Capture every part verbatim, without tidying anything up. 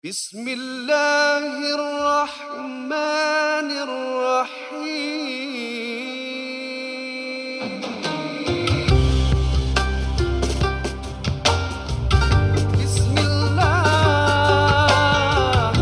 Bismillahirrahmanirrahim. Bismillah.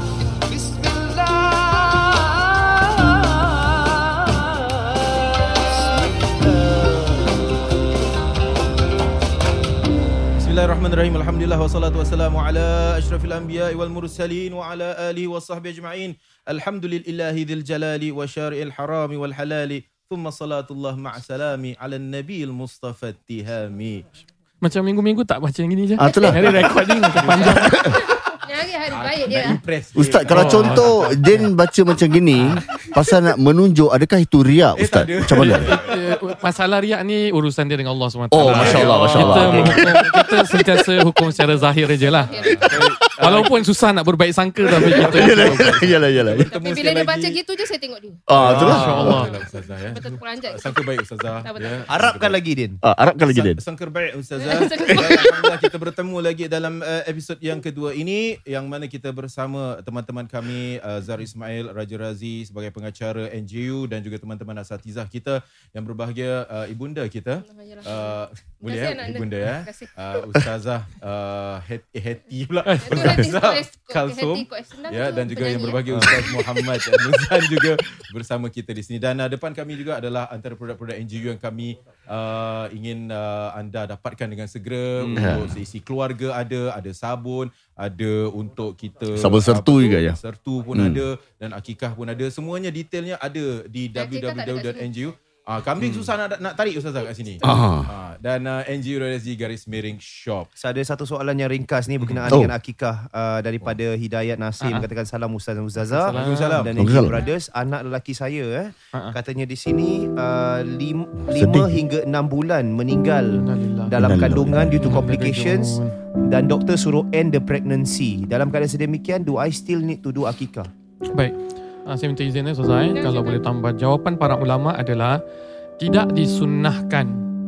Bismillahirrahmanirrahim. Alhamdulillah wassalatu wassalamu ala asyrafil anbiya'i wal mursalin wa ala alihi wa sahbihi ajma'in. Alhamdulillahi dzil jalali wa syari'il harami wal halali. Thumma salatullah ma'asalami ala nabiyil mustafa tihami. Macam minggu-minggu tak baca yang gini je. Ah, itulah. Hari recording macam panjang. Hari hari baik dia. Ustaz, kalau Oh. contoh Din baca macam gini, pasal nak menunjuk, adakah itu riak, Eh, Ustaz? tak ada. Macam mana? Eh, Masalah riak ni urusan dia dengan Allah subhanahu wa taala. Oh, Masya Allah, Masya Allah. Kita, menghukum, kita sentiasa hukum secara zahir je lah. Walaupun susah nak berbaik sangka, tapi kita Yalah, yalah, yalah. Tapi bila dia baca gitu je saya tengok dia. Ah, itulah. Masya Allah. Ustazah ya. Betul peranjat. Sangka baik Ustazah. Tak betul. Ya. Harapkan lagi Din. Ah, Arabkan lagi, Din. Sangka baik Ustazah. Alhamdulillah kita bertemu lagi dalam uh, episod yang kedua ini, yang mana kita bersama teman-teman kami, uh, Zahar Ismail, Raja Razi sebagai pengacara N J U dan juga teman-teman asatizah kita yang berbahagia, uh, ibunda kita. Uh, boleh Terima kasih, ya anak anda. ibunda ya. Terima kasih. Uh, Ustazah uh, Heti, Heti pula. Itu Heti Ustazah Kok- Kalsum. Heti Kok Senang Ya, tu dan juga yang penyanyi, berbahagia ya. Ustaz Muhammad Nuzan juga bersama kita di sini. Dan uh, depan kami juga adalah antara produk-produk N G U yang kami uh, ingin uh, anda dapatkan dengan segera. Hmm. Untuk seisi keluarga ada, ada sabun, ada untuk kita Sabun sertu apa tu, juga ya? Sertu pun Hmm. ada dan akikah pun ada. Semuanya detailnya ada di w Akikah w tak ada w kat dot n g u. Ah, kambing susah nak nak tarik Ustazah kat sini. Ah. Ah, dan uh, N G U dot S G garis miring shop. Saya ada satu soalan yang ringkas ni berkenaan Oh. dengan akikah uh, daripada Hidayat Nasim. Ah, ah. Katakan salam Ustaz dan Ustazah. Waalaikumsalam. Dan N G Waalaikumsalam. Brothers, anak lelaki saya eh, Ah, ah. katanya di sini uh, lim, Sedih. lima hingga enam bulan meninggal Innalillah. dalam Innalillah. kandungan due to complications Innalillah. dan doktor suruh end the pregnancy. Dalam keadaan sedemikian, do I still need to do akikah? Baik. Ah, saya minta izin ya Ustaz Zain, kalau boleh tambah. Jawapan para ulama adalah tidak disunnahkan.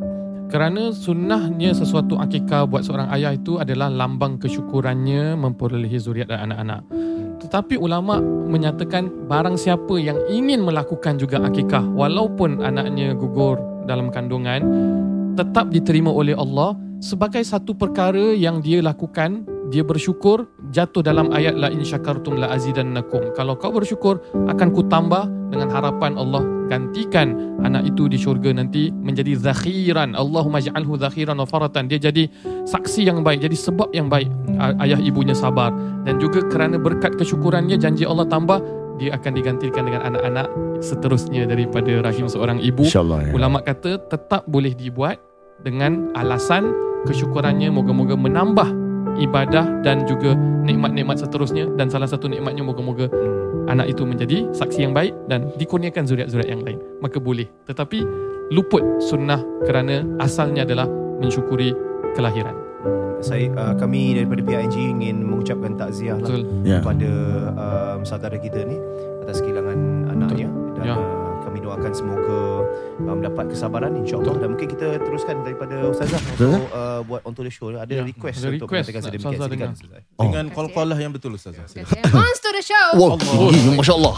Kerana sunnahnya sesuatu akikah buat seorang ayah itu adalah lambang kesyukurannya memperolehi zuriat dan anak-anak. Tetapi ulama menyatakan barang siapa yang ingin melakukan juga akikah walaupun anaknya gugur dalam kandungan, tetap diterima oleh Allah sebagai satu perkara yang dia lakukan. Dia bersyukur, jatuh dalam ayat la in syakartum la azidannakum. Kalau kau bersyukur, akan ku tambah, dengan harapan Allah gantikan anak itu di syurga nanti menjadi zakhiran. Allahumma ja'alhu zakhiran wa faratan. Dia jadi saksi yang baik, jadi sebab yang baik. Ayah ibunya sabar. Dan juga kerana berkat kesyukurannya, janji Allah tambah, dia akan digantikan dengan anak-anak seterusnya daripada rahim seorang ibu. InsyaAllah ya. Ulama kata tetap boleh dibuat dengan alasan kesyukurannya moga-moga menambah ibadah dan juga nikmat-nikmat seterusnya, dan salah satu nikmatnya moga-moga anak itu menjadi saksi yang baik dan dikurniakan zuriat-zuriat yang lain, maka boleh. Tetapi luput sunnah kerana asalnya adalah mensyukuri kelahiran. Saya uh, kami daripada pihak N G U ingin mengucapkan takziah lah Betul. Ya. kepada um, saudara kita ni atas kehilangan anaknya. Dan Ya. uh, kami doakan semoga uh, mendapat kesabaran insya-Allah. Dan mungkin kita teruskan daripada Ustazah untuk uh, buat onto the show. Ada Ya, request ada untuk request mengatakan nak sedemikian. Ustazah Silakan dengar. Ustazah. Dengan Terima kasih, call-call yang betul Ustazah. Terima kasih. Monster the show. Wah, tinggi, Masya Allah.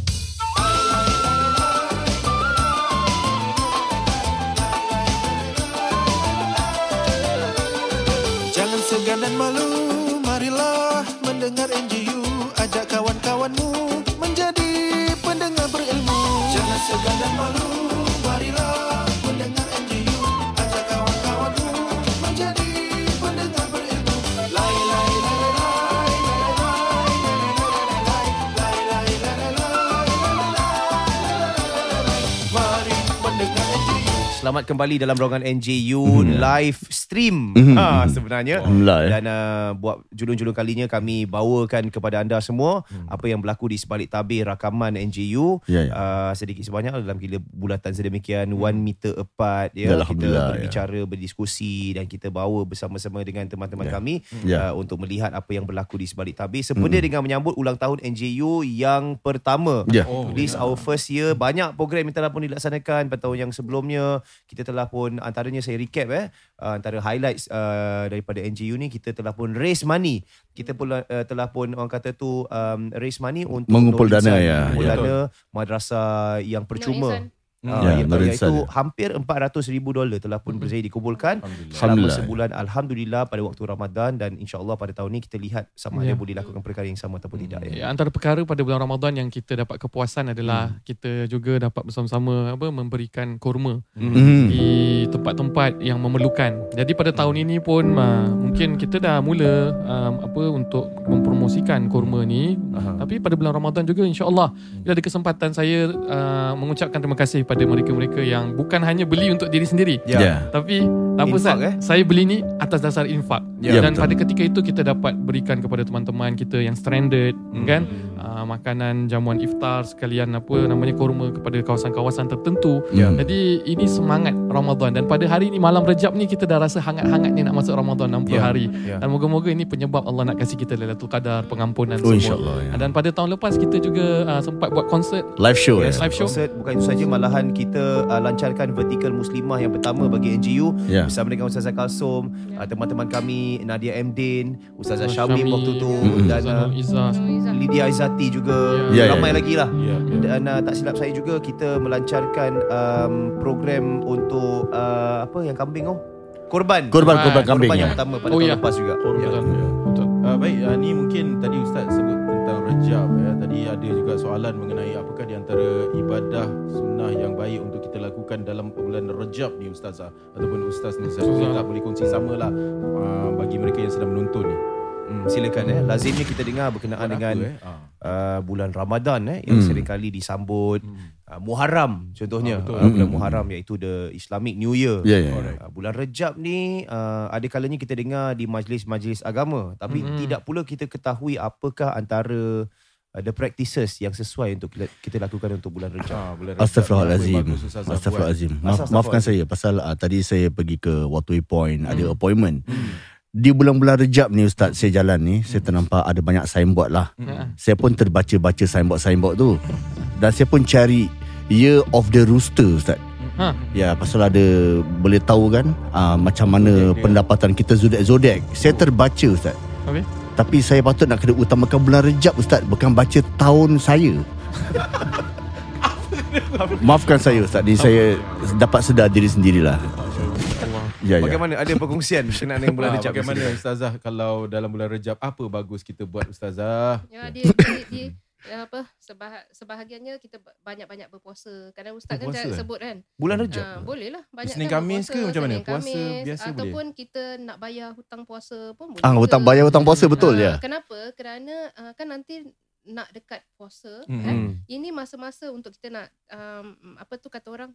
Jangan segan dan malu, marilah mendengar N G U. Ajak kawan-kawanmu menjadi pendengar berilmu. Jangan segan dan malu, marilah mendengar N G U. Ajak kawan-kawanmu menjadi pendengar berilmu. Lai lai lai lai lai lai lai lai lai. Mari mendengar N G U. Selamat kembali dalam ruangan N J U live stream. Mhm. Ha, sebenarnya. Alhamdulillah ya. Dan uh, buat julung-julung kalinya kami bawakan kepada anda semua apa yang berlaku di sebalik tabir rakaman N J U. Ya, ya. Uh, sedikit sebanyak dalam gila bulatan sedemikian one meter apart ya. Ya, Kita Alhamdulillah, berbicara, berdiskusi dan kita bawa bersama-sama dengan teman-teman Ya. kami Ya. uh, untuk melihat apa yang berlaku di sebalik tabir sempena dengan menyambut ulang tahun N J U yang pertama. Ya. Oh, This our first year. Banyak program yang telah pun dilaksanakan pada tahun yang sebelumnya. Kita telah pun antaranya saya recap eh uh, antara highlights uh, daripada N J U ni, kita telah pun raise money. Kita pula uh, telah pun orang kata tu um, raise money untuk mengumpul Nur dana Insan, ya. mengumpul Ya. dana madrasah yang percuma. Hmm. Uh, Ya, yang, Nur iaitu Insan. hampir empat ratus ribu dolar telah pun berjaya dikumpulkan selama Alhamdulillah. sebulan. Alhamdulillah pada waktu Ramadan, dan insya-Allah pada tahun ni kita lihat sama Ya. ada boleh lakukan perkara yang sama ataupun tidak ya. Ya, antara perkara pada bulan Ramadan yang kita dapat kepuasan adalah hmm. kita juga dapat bersama-sama apa memberikan kurma Hmm. di tempat-tempat yang memerlukan. Jadi pada tahun ini pun uh, mungkin kita dah mula um, apa untuk mempromosikan kurma ni. Aha. Tapi pada bulan Ramadan juga insya-Allah bila ada kesempatan saya uh, mengucapkan terima kasih pada mereka-mereka yang bukan hanya beli untuk diri sendiri. Ya. Ya. Tapi apa Infak, Ustaz? eh? Saya beli ni atas dasar infak. Ya, Dan betul. pada ketika itu kita dapat berikan kepada teman-teman kita yang stranded hmm. kan, uh, makanan jamuan iftar sekalian apa namanya kurma kepada kawasan-kawasan tertentu. Ya. Jadi ini semangat Ramadan, dan pada hari ini malam Rejab ni kita dah rasa hangat-hangat ni nak masuk Ramadan enam puluh Ya. hari. Ya. Dan moga-moga ini penyebab Allah nak kasih kita Lailatul Qadar, pengampunan Oh, semua. insyaAllah, ya. Dan pada tahun lepas kita juga uh, sempat buat konsert. Live show Yes, ya. Live show. konsert. Bukan itu saja, malahan kita uh, lancarkan vertikal muslimah yang pertama bagi N J U Ya. bersama dengan Ustazah Kalsum, uh, teman-teman kami Nadia M Din, Ustazah Ustazah Syamim Syamim, waktu tu, Mm-mm. dan Ustazah uh, Izzah. Lydia Izzati juga, Ya, ya, ramai ya. lagi lah. Ya, ya. Dan uh, tak silap saya juga kita melancarkan um, program untuk uh, apa yang kambing oh korban Korban Korban. korban kambing korban ya. yang pertama pada Oh, tahun ya. lepas juga. Ya. Betul. Betul. Uh, baik, uh, ni mungkin tadi Ustaz sebut tentang Rejab ya. Tadi ada juga soalan mengenai apakah di antara ibadah sunnah yang baik untuk kita lakukan dalam bulan Rejab ni Ustazah ataupun Ustaz ni. Saya Ustazah. tak boleh kongsi samalah uh, bagi mereka yang sedang menonton ni. Hmm, silakan eh. Lazimnya kita dengar berkenaan Buat dengan apa, eh? Ah. uh, bulan Ramadan eh yang Hmm. sering kali disambut uh, Muharram contohnya. Ah, betul. uh, bulan Hmm. Muharram iaitu the Islamic New Year. Ya ya. Alright. Uh, bulan Rejab ni uh, ada kalanya kita dengar di majlis-majlis agama, tapi Mm-mm. tidak pula kita ketahui apakah antara uh, the practices yang sesuai untuk kita, kita lakukan untuk bulan Rejab. Ah, bulan Rejab Astagfirullahalazim. ni apa yang bagus Ustazah buat? Astagfirullahalazim. Maaf, Astagfirullah. maafkan saya pasal uh, tadi saya pergi ke Waterway Point, ada Hmm. appointment. Hmm. Di bulan-bulan Rejab ni Ustaz, saya jalan ni, saya ternampak ada banyak signboard lah. Hmm. Saya pun terbaca-baca signboard-signboard tu. Dan saya pun cari Year of the Rooster Ustaz. Ha. Ya, pasal ada boleh tahu kan uh, macam mana Zodiac dia. pendapatan kita zodiak-zodiak. Saya terbaca Ustaz. Okey. Tapi saya patut nak kena utamakan bulan Rejab Ustaz, bukan baca tahun saya. Maafkan saya Ustaz, ni saya dapat sedar diri sendirilah. Allah. Ya ya. Bagaimana ada perkongsian berkenaan dengan bulan Ah, Rejab? bagaimana Ustazah kalau dalam bulan Rejab apa bagus kita buat Ustazah? Ya, dia, dia, dia ya, apa sebah, sebahagiannya kita banyak-banyak berpuasa. Kadang ustaz kan Berpuasa, dah eh? sebut kan. Bulan Rejab. Ha, boleh lah banyak Isnin kan Khamis berpuasa, ke macam mana? Senin Puasa Khamis, biasa boleh? ataupun kita nak bayar hutang puasa pun boleh. Ah, juga. hutang bayar hutang puasa betul Ah, ya. Kenapa? Kerana uh, kan nanti nak dekat puasa Hmm. kan. Hmm. Ini masa-masa untuk kita nak um, apa tu kata orang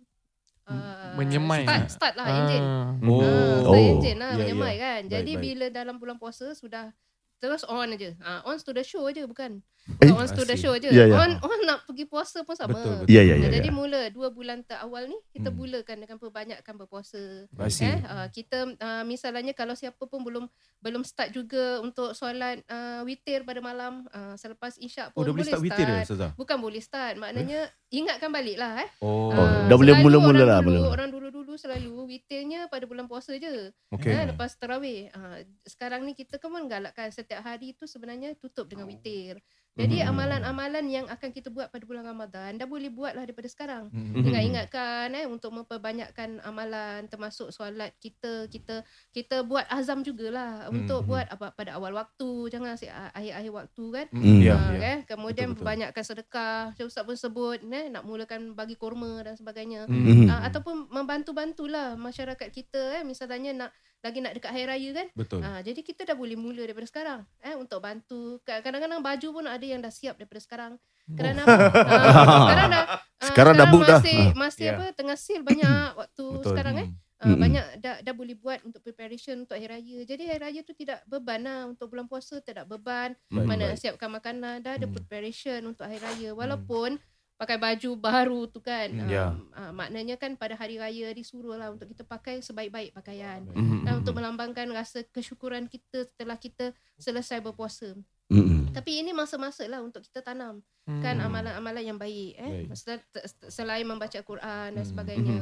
uh, Menyemai. start, start lah enjin. Ah. Oh. Ah, Oh. start enjin lah Ya, menyemai ya. kan. Baik, Jadi baik. bila dalam bulan puasa sudah terus on aja. Ah, on to the show aja bukan. Eh, on to the I see. show aja. Ya, ya. On on nak pergi puasa pun sama. Betul, betul. Ya ya Nah, ya. jadi ya. mula dua bulan terawal ni kita Hmm. mulakan dengan perbanyakkan berpuasa. I see. Eh, uh, kita uh, misalnya kalau siapa pun belum belum start juga untuk solat uh, witir pada malam, uh, selepas isyak Oh, pun dah boleh start witir ya Ustazah? Bukan boleh start, maknanya ingatkan balik lah eh. Oh. Oh, Ah, dah boleh selalu mula-mula orang lah, dulu, mula. Orang dulu-dulu selalu witirnya pada bulan puasa je. Okey. Eh, lepas tarawih. Uh, sekarang ni kita kan menggalakkan setiap hari tu sebenarnya tutup dengan witir. Jadi Hmm. amalan-amalan yang akan kita buat pada bulan Ramadan dah boleh buat lah daripada sekarang. Hmm. Dengan ingatkan eh untuk memperbanyakkan amalan termasuk solat kita kita kita buat azam jugalah Hmm, untuk hmm. buat apa pada awal waktu, jangan asyik akhir-akhir waktu kan. Hmm. Ya, Ah, ya. kan? Kemudian Betul, betul. banyakkan sedekah. Macam Ustaz pun sebut eh, nak mulakan bagi kurma dan sebagainya. Hmm. Mhm. Ah, ataupun membantu-bantulah masyarakat kita eh misalnya nak lagi nak dekat hari raya kan. Betul. Ah, jadi kita dah boleh mula daripada sekarang eh untuk bantu. Kadang-kadang baju pun ada yang dah siap daripada sekarang. Kerana apa? Ah, sekarang dah ah, Sekarang dah book dah. masih, Masih Ya. apa tengah sale banyak waktu Betul. sekarang eh. Hmm. Uh, Mm-mm. banyak dah dah boleh buat untuk preparation untuk hari raya. Jadi hari raya tu tidak beban lah, untuk bulan puasa tidak beban. Baik, Mana baik. nak siapkan makanan, dah ada Hmm. preparation untuk hari raya. Walaupun pakai baju baru tu kan. Hmm. Uh, Ya. uh, maknanya kan pada hari raya disuruh lah untuk kita pakai sebaik-baik pakaian. Mhm. Dan untuk melambangkan rasa kesyukuran kita setelah kita selesai berpuasa. Mhm. Tapi ini masa-masa lah untuk kita tanam Hmm. kan amalan-amalan yang baik eh Baik. Sel- selain membaca Quran dan Hmm. sebagainya. Mhm.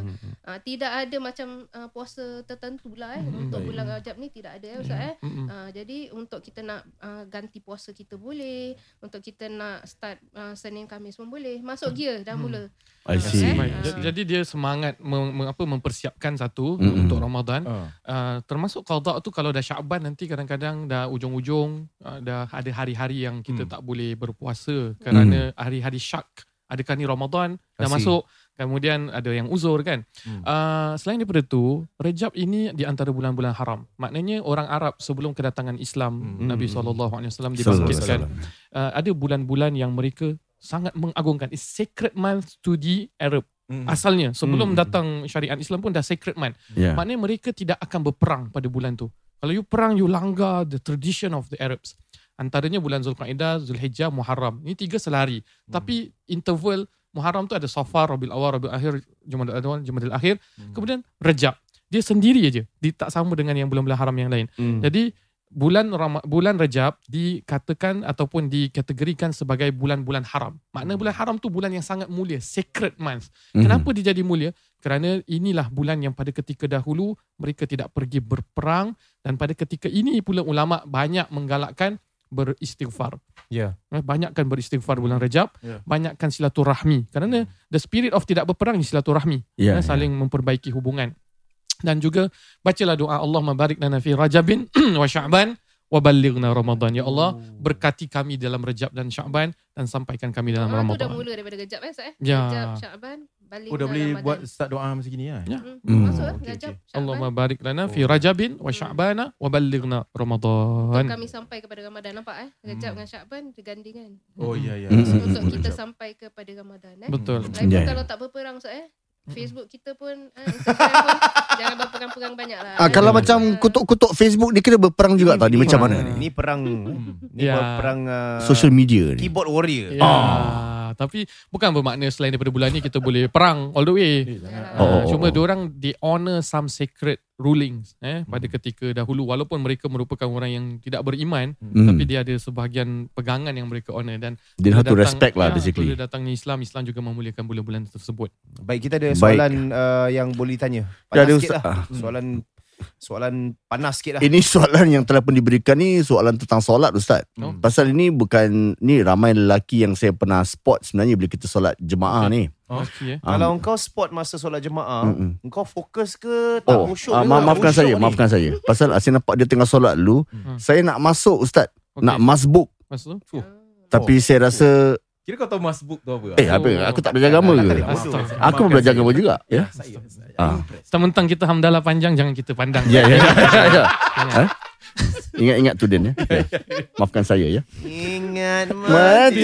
Uh, tidak ada macam uh, puasa tertentu lah eh. Hmm, Untuk baik. bulan Rajab ni tidak ada eh, Ustaz eh. Mm-mm. Uh, jadi untuk kita nak uh, ganti puasa kita boleh, untuk kita nak start uh, Senin Khamis pun boleh. Masuk gear dah mula. I see. Baik. Ah. J- Jadi dia semangat mem, mem, apa, mempersiapkan satu Mm-mm. untuk Ramadan. Ah. Uh, termasuk qada tu kalau dah Syaban nanti kadang-kadang dah ujung-ujung uh, dah ada hari-hari yang kita Hmm. tak boleh berpuasa kerana hari-hari syak. Adakah ni Ramadan dah Pasti. masuk, kemudian ada yang uzur kan. Hmm. Uh, selain daripada tu, Rejab ini di antara bulan-bulan haram. Maknanya orang Arab sebelum kedatangan Islam, Hmm. Nabi sallallahu alaihi wasallam Sallallahu alaihi dibangkitkan. Uh, ada bulan-bulan yang mereka sangat mengagungkan. It's sacred month to the Arab. Hmm. Asalnya sebelum Hmm. datang syariat Islam pun dah sacred month. Yeah. Maknanya mereka tidak akan berperang pada bulan tu. Kalau you perang, you langgar the tradition of the Arabs. Antaranya bulan Zulqa'dah, Zulhijjah, Muharram. Ini tiga selari. Hmm. Tapi interval Muharram tu ada Safar, Rabiul Awal, Rabiul Akhir, Jumadil Awal, Jumadil Akhir. Hmm. Kemudian Rejab. Dia sendiri aja. Dia tak sama dengan yang bulan-bulan haram yang lain. Hmm. Jadi bulan Ram- bulan Rejab dikatakan ataupun dikategorikan sebagai bulan-bulan haram. Makna bulan haram tu bulan yang sangat mulia, sacred month. Mhm. Kenapa dia jadi mulia? Kerana inilah bulan yang pada ketika dahulu mereka tidak pergi berperang, dan pada ketika ini pula ulama banyak menggalakkan beristighfar. Ya. Eh, Banyakkan beristighfar bulan Rejab, Ya. banyakkan silaturahmi. Kerana the spirit of tidak berperang ni silaturahmi. Ya, Eh, saling memperbaiki hubungan. Dan juga bacalah doa Allahumma barik lana fi Rajabin wa Sya'ban wa ballighna Ramadan. Ya Allah, berkati kami dalam Rejab dan Sya'ban dan sampaikan kami dalam Ah, tu dah Ramadan. mula daripada Rejab eh Ustaz eh. Ya. Rejab, Sya'ban, balik Oh dah bulan boleh Ramadan. buat start doa macam gini lah. Ya. Hmm. Hmm. Masuk eh Okey, Rejab, okey. Sya'ban. Allahumma barik lana fi Oh. Rajabin wa Sya'bana wa ballighna Ramadan. Kami sampai kepada Ramadan, nampak eh. Rejab Hmm. dengan Sya'ban bergandingan. Oh ya ya. Hmm. Untuk Hmm. kita Rejab. sampai kepada Ramadan eh. Betul. Lagi Ya, ya. kalau tak berperang Ustaz eh. Facebook kita pun eh, Instagram pun jangan berperang-perang banyak lah. Ah, eh. kalau Ya. macam kutuk-kutuk Facebook ni kena berperang juga tau. Ni macam mana ni? Ni perang Hmm. Ni Ya. perang uh, Social media ni. keyboard warrior. Ya. Tapi bukan bermakna selain daripada bulan ni kita boleh perang all the way. Eh, jangan. Oh, Uh, oh, cuma oh. diorang they honor some sacred rulings eh pada ketika dahulu, walaupun mereka merupakan orang yang tidak beriman, Hmm. tapi dia ada sebahagian pegangan yang mereka honor. Dan Dia bila have to datang- respect lah ya, basically. bila datangnya Islam, Islam juga memuliakan bulan-bulan tersebut. Baik, kita ada Baik. soalan uh, yang boleh tanya. Ya, ada Panas sikit Ustaz. lah. Ah. Soalan soalan panas sikit lah. Ini soalan yang telah pun diberikan ni soalan tentang solat Ustaz. Oh. Pasal ini bukan ni ramai lelaki yang saya pernah spot sebenarnya bila kita solat jemaah ni. Oh. Okey eh. Ah, Kalau engkau spot masa solat jemaah, Mm-mm. engkau fokus ke tak Oh, khusyuk ah, ke? ma- maafkan Khusyuk saya, ni. maafkan saya. Pasal saya nampak dia tengah solat dulu, Hmm. saya nak masuk Ustaz, Okey. nak masbuk. Maksud tu? Fuh. Tapi saya rasa Kira kau tahu masbuk tu apa? eh apa aku tak belajar agama ke? Astaga. Aku belajar agama juga, ya. Saya, saya Ah. impress. Mentang kita hamdalah panjang, jangan kita pandang. Ya ya. ya. Ha? Ingat-ingat tu Den ya. Ya. Maafkan saya ya. Ingat Mati.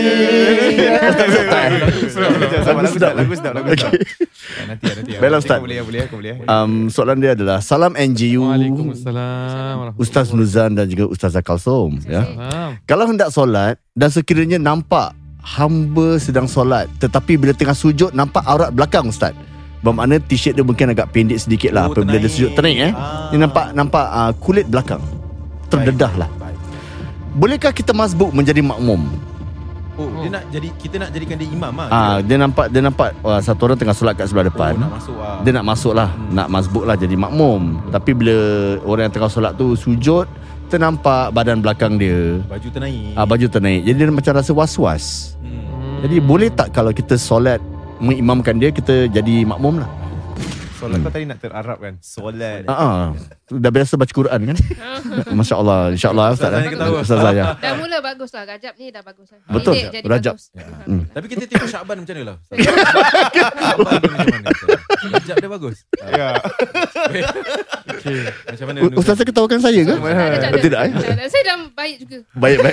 Lagu sedap, lagu sedap, lagu sedap. Ah, Nanti ya, nanti ya. Baiklah, Ustaz. Kau boleh, boleh, kau boleh. Um, soalan dia adalah salam N J U Waalaikumsalam. Ustaz Nuzan dan juga Ustazah Kalsom ya. Salam. Kalau hendak solat dan sekiranya nampak hamba sedang solat tetapi bila tengah sujud nampak aurat belakang Ustaz. Bermakna t-shirt dia mungkin agak pendek sedikit lah Oh, apabila dia ternaik. sujud ternaik eh. Ah. Dia nampak nampak uh, kulit belakang. Terdedah lah. Baik. Bolehkah kita masbuk menjadi makmum? Oh, dia nak jadi kita nak jadikan dia imam ah. Ah, dia nampak dia nampak uh, satu orang tengah solat kat sebelah depan. Oh, nak masuk ah. Dia nak masuk lah, Hmm. nak masbuk lah jadi makmum. Tapi bila orang yang tengah solat tu sujud, ternampak badan belakang dia, baju ternaik. ah, baju ternaik. Jadi dia macam rasa was-was. Hmm. Jadi boleh tak kalau kita solat mengimamkan dia, kita jadi makmum lah? Solat kau tadi nak terarab kan? Solat. Ah, ah. Dah biasa baca Quran kan? Masya Allah, insya Allah Ustaz. Ustazah ni ketawa. Ustazah ya. Dah mula bagus lah. Rajab ni dah bagus lah. Betul, Pendek jadi Rajab. bagus. Ya. Hmm. Tapi kita tengok Syakban macam mana lah. Syakban dia macam mana? Rajab dia bagus. Ya. Okey. Macam mana? Ustazah ketawakan saya ke? Tak ada, tak ada. Tidak eh? Tak ada. Saya dah baik juga. Baik, baik.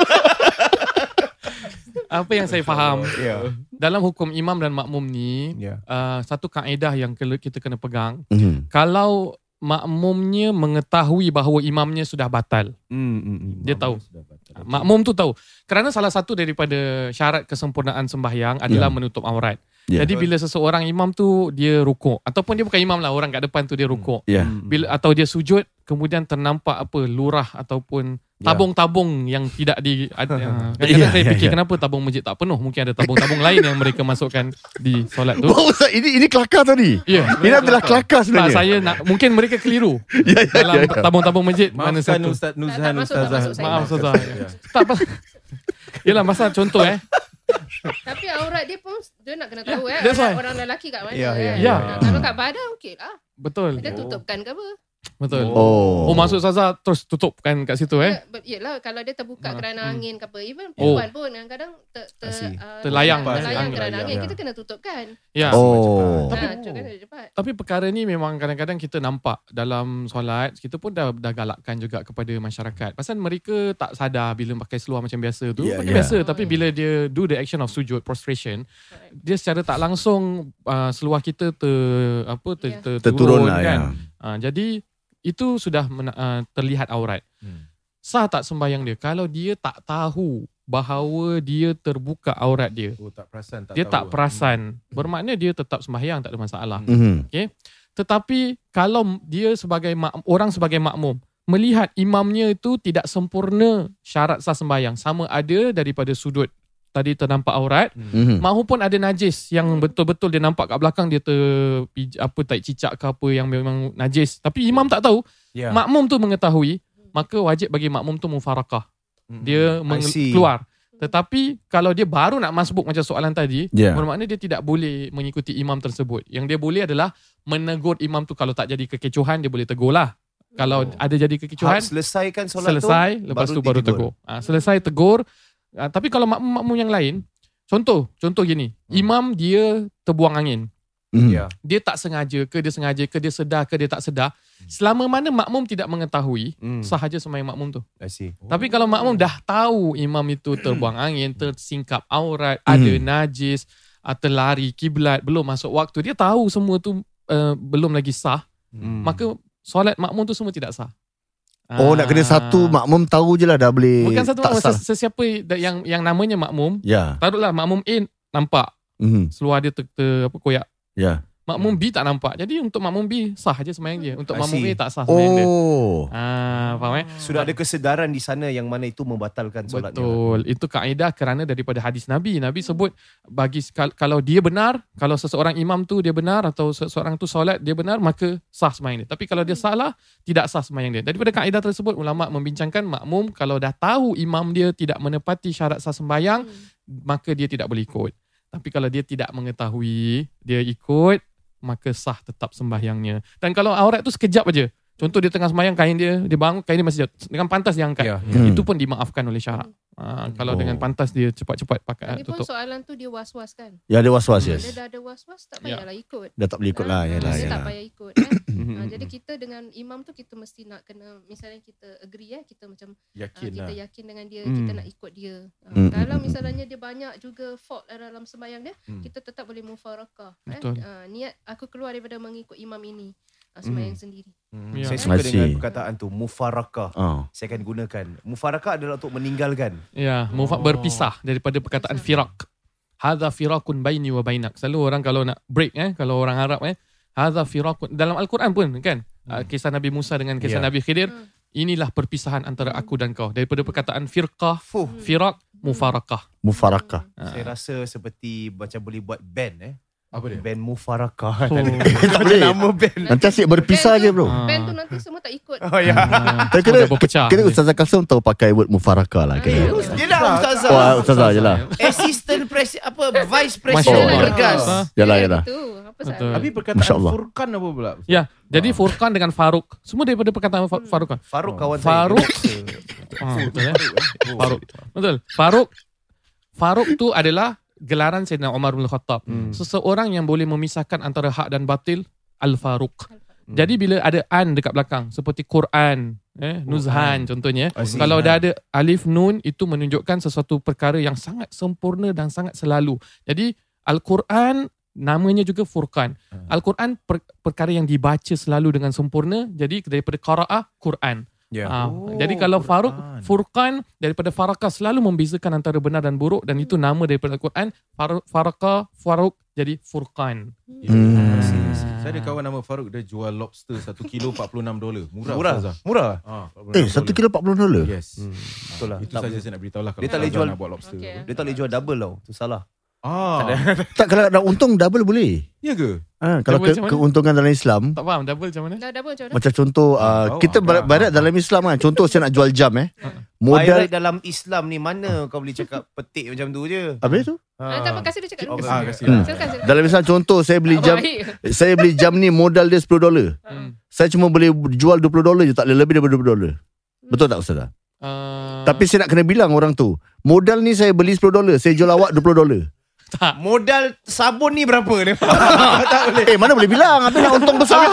Apa yang saya faham, Ya. dalam hukum imam dan makmum ni, Ya. uh, satu kaedah yang kena- kita kena pegang, Mhm. kalau makmumnya mengetahui bahawa imamnya sudah batal, Hmm, hmm, hmm. dia tahu. Makmum tu tahu. Kerana salah satu daripada syarat kesempurnaan sembahyang adalah Ya. menutup aurat. Ya. Jadi bila seseorang imam tu dia rukuk, ataupun dia bukan imam lah, orang kat depan tu dia rukuk. Ya. Bila atau dia sujud, kemudian ternampak apa lurah ataupun Ya. tabung-tabung yang tidak di ada, Ya, kadang-kadang saya ya, fikir ya. kenapa tabung masjid tak penuh, mungkin ada tabung-tabung lain yang mereka masukkan di solat tu. Oh, Ustaz, ini ini kelakar tadi. Ya, Ini adalah kelakar tak, sebenarnya. saya nak mungkin mereka keliru Ya, ya, dalam ya, ya. tabung-tabung masjid mana Maafkan satu. Ustaz Tak, Nuzhan, tak masuk, tak Ustazah. masuk saya. Maaf Ustazah. Ya. Tak apa. Yalah masa contoh eh. Tapi aurat dia pun dia nak kena tahu eh. that's why. Orang lelaki kat mana Ya, ya, kan. ya. Ah, Kalau kat badan okey lah. Betul. Dia tutupkan ke apa? Betul. Oh. Oh, maksud Ustazah terus tutupkan kat situ eh. Ya, yelah kalau dia terbuka Ha, kerana hmm. angin ke apa. Even Oh. perempuan pun kadang-kadang ter, ter, Asyik. uh, Terlayang, terlayang angin. kerana angin. Ya. Kita kena tutupkan. Ya. Oh. Tapi ha, kan dia cepat. Tapi perkara ni memang kadang-kadang kita nampak dalam solat, kita pun dah, dah galakkan juga kepada masyarakat. Pasal mereka tak sadar bila pakai seluar macam biasa tu. Ya, pakai ya. biasa, tapi bila dia do the action of sujud, prostration, Correct. dia secara tak langsung uh, seluar kita ter, apa, ter, Ya. ter, Terturun lah kan. ya. Uh, jadi itu sudah mena- uh, terlihat aurat. Hmm. Sah tak sembahyang dia? Kalau dia tak tahu bahawa dia terbuka aurat dia, Oh, tak perasan, tak dia tahu. tak perasan, bermakna dia tetap sembahyang, tak ada masalah. Mhm. Tetapi kalau dia sebagai mak, orang sebagai makmum melihat imamnya itu tidak sempurna syarat sah sembahyang, sama ada daripada sudut tadi ternampak aurat Mhm. maupun ada najis yang betul-betul dia nampak kat belakang dia ter apa tak cicak ke apa yang memang najis, tapi imam tak tahu, Ya. makmum tu mengetahui, maka wajib bagi makmum tu mufarakah, Hmm. dia I meng- see. keluar. Tetapi kalau dia baru nak masbuk macam soalan tadi, Ya. bermakna dia tidak boleh mengikuti imam tersebut. Yang dia boleh adalah menegur imam tu. Kalau tak jadi kekecohan, dia boleh tegur lah. Kalau ada jadi kekecohan, Hak selesaikan solat selesai, tu, lepas tu baru tegur. Ha, selesai tegur. Ha, tapi kalau makmum-makmum yang lain, contoh, contoh gini, imam dia terbuang angin. Mhm. Ya. Dia tak sengaja ke dia sengaja ke dia sedar ke dia tak sedar. Selama mana makmum tidak mengetahui, Hmm. sahaja sembahyang makmum tu. I see. Tapi kalau makmum dah tahu imam itu terbuang angin, tersingkap aurat, ada najis, uh, terlari kiblat, belum masuk waktu, dia tahu semua tu uh, belum lagi sah, Hmm. maka solat makmum tu semua tidak sah. Oh, nak kena Ah. satu makmum tahu je lah dah boleh. Bukan satu tak makmum, sah. ses- sesiapa yang yang namanya makmum, Ya. taruhlah makmum A nampak Mhm. seluar dia ter, ter, apa koyak. Ya. Makmum B tak nampak. Jadi untuk makmum B sah je sembahyang dia. Untuk I makmum see. A tak sah sembahyang dia. Oh. Ah, faham eh? Sudah ada kesedaran di sana yang mana itu membatalkan solatnya. Betul. Itu kaedah kerana daripada hadis Nabi. Nabi sebut bagi kal- kalau dia benar, kalau seseorang imam tu dia benar atau seseorang tu solat dia benar, maka sah sembahyang dia. Tapi kalau dia salah, tidak sah sembahyang dia. Daripada kaedah tersebut ulama membincangkan makmum kalau dah tahu imam dia tidak menepati syarat sah sembahyang, maka dia tidak boleh ikut. Tapi kalau dia tidak mengetahui, dia ikut, maka sah tetap sembahyangnya. Dan kalau aurat tu sekejap aja, contoh dia tengah sembahyang, kain dia, dia bangun, kain dia masih jatuh. Dengan pantas dia angkat. Ya. Hmm. Itu pun dimaafkan oleh syarak. Ha, kalau Oh. dengan pantas dia cepat-cepat pakai Lagipun tutup. soalan tu dia was-was kan. Ya, ada was-was, Dia yes. dah ada was-was tak Ya. payahlah ikut. Dah tak boleh ikut lah. Ah, Yalah, dia tak yalah. payah ikut kan. Mhm. Ah, jadi kita dengan imam tu kita mesti nak kena, misalnya kita agree eh, kita macam ah, Yakin kita lah. yakin dengan dia, Hmm. kita nak ikut dia. Ah, Hmm, kalau hmm, misalnya dia banyak juga fault dalam sembahyang dia, Hmm. kita tetap boleh mufarakah. Eh. Betul. Ah, niat aku keluar daripada mengikut imam ini. Ah, sembahyang sendiri. Hmm. Ya. Saya suka I see. dengan perkataan tu, mufarakah. Oh. Saya akan gunakan. Mufarakah adalah untuk meninggalkan. Ya, mufa- berpisah daripada perkataan firak. Hadza firakun baini wa bainak. Selalu orang kalau nak break eh, kalau orang Arab eh, hadza firakun dalam Al-Quran pun kan. Uh, kisah Nabi Musa dengan kisah Ya. Nabi Khidir, Hmm. inilah perpisahan antara aku dan kau. Daripada perkataan firqah, Fuh. firak, mufarakah. Mufarakah. Ah. Saya rasa seperti macam boleh buat band eh. Apa dia? Band Mufarakah. Oh. Tak boleh. Nama band. Nanti asyik berpisah Band je tu- bro. Ah. Band tu nanti semua tak ikut. Oh ya. Ah, Tapi semua kena, dah berpecah. kena Ustazah Kasum tahu pakai word mufarakah lah. Ah, Kena. ya. Dia dah ustazah. Oh, Ustazah je lah. Assistant pres apa vice Masya president Allah. Bergas. Ah. Yalah, Dia yalah. gitu. Apa Betul. salah? Tapi Masya perkataan Allah. Furqan apa pula? Ya, jadi Furqan dengan Faruk. Semua daripada perkataan Fa- Faruk kan? Faruk kawan Faruk. saya. Ah, betul eh? Faruk. Betul. Faruk. Faruk tu adalah gelaran Sayyidina Umar bin Khattab. Hmm. Seseorang yang boleh memisahkan antara hak dan batil, Al-Faruq. Hmm. Jadi bila ada an dekat belakang seperti Quran, eh, Nuzhan contohnya, Aziz. kalau dah ada alif nun itu menunjukkan sesuatu perkara yang sangat sempurna dan sangat selalu. Jadi Al-Quran namanya juga Furqan. Al-Quran per, perkara yang dibaca selalu dengan sempurna. Jadi daripada qiraah Quran. Ya. Ah, Oh, jadi kalau Faruq, Quran. Furqan daripada Farakah selalu membezakan antara benar dan buruk, dan itu nama daripada Al-Quran. Far- Farakah, Faruq jadi Furqan. Hmm. Ah. Saya ada kawan nama Farouk, dia jual lobster satu kilo empat puluh enam dolar. Murah. Murah. Ustazah. Murah. Ah, empat puluh enam Eh, dolar. satu kilo empat puluh dolar? Yes. Hmm. Betul lah. Itu Tak saja boleh. saya nak beritahu lah kalau Dia tak boleh Ustazah jual- nak buat lobster. Okay. Dia tak boleh jual double tau. Tu salah. Ah, Tak, kalau nak untung double boleh. ya ke? Ha, kalau Double ke, macam mana? keuntungan dalam Islam, Tak faham double macam mana? Dah double macam mana? macam contoh uh, Oh, kita agak. barat-barat dalam Islam kan. Contoh saya nak jual jam eh. Modal Modal dalam Islam ni mana kau boleh cakap petik macam tu je. habis tu? Ah, tak apa, kasih dia cakap dulu. Oh, Ah, kasih. kasih Hmm. lah. Silakan, silakan. Dalam Islam contoh saya beli jam Baik. saya beli jam ni modal dia sepuluh dolar. Hmm. Saya cuma boleh jual dua puluh dolar je, tak boleh lebih daripada dua puluh dolar. Betul tak Ustazah? Uh, Tapi saya nak kena bilang orang tu, modal ni saya beli sepuluh dolar, saya jual awak dua puluh dolar. tak. Modal sabun ni berapa dia? Tak boleh. Eh, mana boleh bilang? Habis nak untung besar.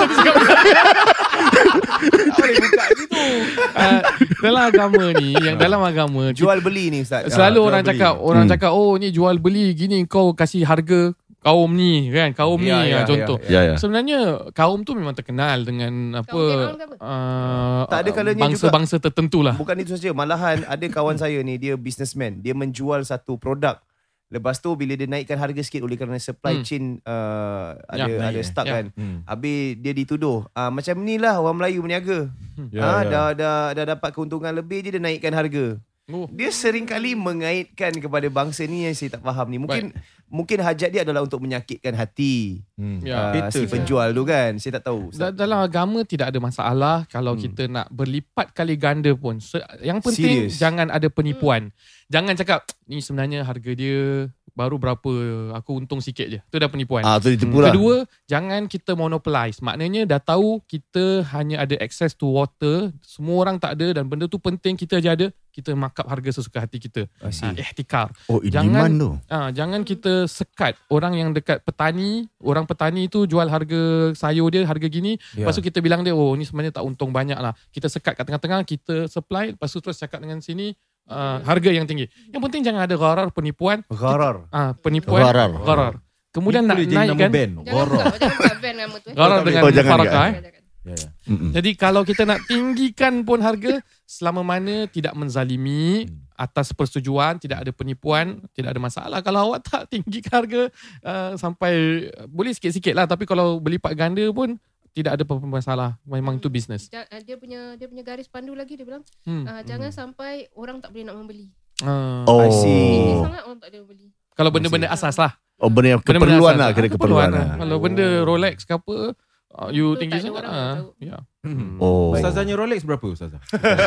Uh, dalam agama ni, yang dalam agama Jual beli ni Ustaz. selalu jual orang beli. cakap, orang Hmm. cakap, oh ni jual beli gini, kau kasih harga kaum ni kan, kaum Ya, ni ya, ah, contoh. ya, Ya, ya. Sebenarnya kaum tu memang terkenal dengan apa, Kaum Fir'aun ke apa? uh, Tak ada kalanya bangsa-bangsa tertentu lah. Bukan itu saja, malahan ada kawan saya ni, dia businessman, dia menjual satu produk. Lepas tu bila dia naikkan harga sikit oleh kerana supply Hmm. chain uh, ada Ya, ada naik, stuck ya. kan. Hmm. Habis dia dituduh, ah macam ni lah orang Melayu berniaga. Ya, ah ya. dah dah dah dapat keuntungan lebih je dia naikkan harga. Oh. Dia sering kali mengaitkan kepada bangsa ni yang saya tak faham ni. Mungkin mungkin hajat dia adalah untuk menyakitkan hati Hmm. Ya. uh, Haters si penjual tu kan. Saya tak tahu. Da- dalam agama tidak ada masalah kalau Hmm. kita nak berlipat kali ganda pun. Se- yang penting Serious? jangan ada penipuan. Jangan cakap ni sebenarnya harga dia baru berapa, aku untung sikit je. Itu dah penipuan. Ah, tu ditipu lah. Kedua, jangan kita monopolize. Maknanya dah tahu kita hanya ada access to water, semua orang tak ada dan benda tu penting, kita je ada, kita markup harga sesuka hati kita. I see. Ha, ihtikar. Oh, in Jangan- demand tu. Ha, jangan kita sekat orang yang dekat petani, orang petani tu jual harga sayur dia harga gini, Ya. lepas tu kita bilang dia, oh ni sebenarnya tak untung banyak lah. Kita sekat kat tengah-tengah, kita supply, lepas tu terus cakap dengan sini uh, harga yang tinggi. Yang penting jangan ada gharar, penipuan. Gharar. Ah, penipuan, Gharar. gharar. Kemudian Ini nak boleh jadi nama naikkan band. Jangan Gharar. buka, jangan buka band nama tu. eh. gharar Oh, dengan oh, jangan mufarakah juga. eh. Jangan, jangan. Ya, ya. Mm-mm. Jadi kalau kita nak tinggikan pun harga, selama mana tidak menzalimi, atas persetujuan, tidak ada penipuan, tidak ada masalah. Kalau awak tak tinggikan harga uh, sampai, boleh sikit-sikit lah, tapi kalau berlipat ganda pun tidak ada apa-apa masalah. Memang itu bisnes. Ja- ah, Dia punya dia punya garis pandu lagi dia bilang, Hmm. ah, jangan sampai orang tak boleh nak membeli. Uh, Oh. I see. Tinggi sangat orang tak boleh membeli. kalau benda-benda asas lah. Oh, benda yang Benda-benda keperluan asas lah, kira Ah, keperluan lah. Kalau benda Rolex ke apa, uh, you Itu tinggi tak ada sangat orang ah. yang tahu. Ya. Hmm. Oh. Ustazahnya Rolex berapa Ustazah?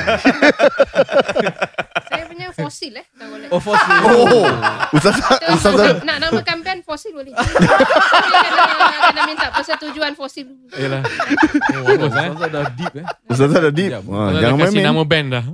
Saya punya fosil eh. Tak boleh. Oh, fossil. Oh. Ustazah, Kita Ustazah. nak namakan band fosil boleh. Tapi kena, kena minta persetujuan fosil. Yalah. Oh, bagus eh. Ustazah dah deep eh. Ustazah dah deep. Ya, Ha, Kalau jangan dah kasih main-main. nama band dah.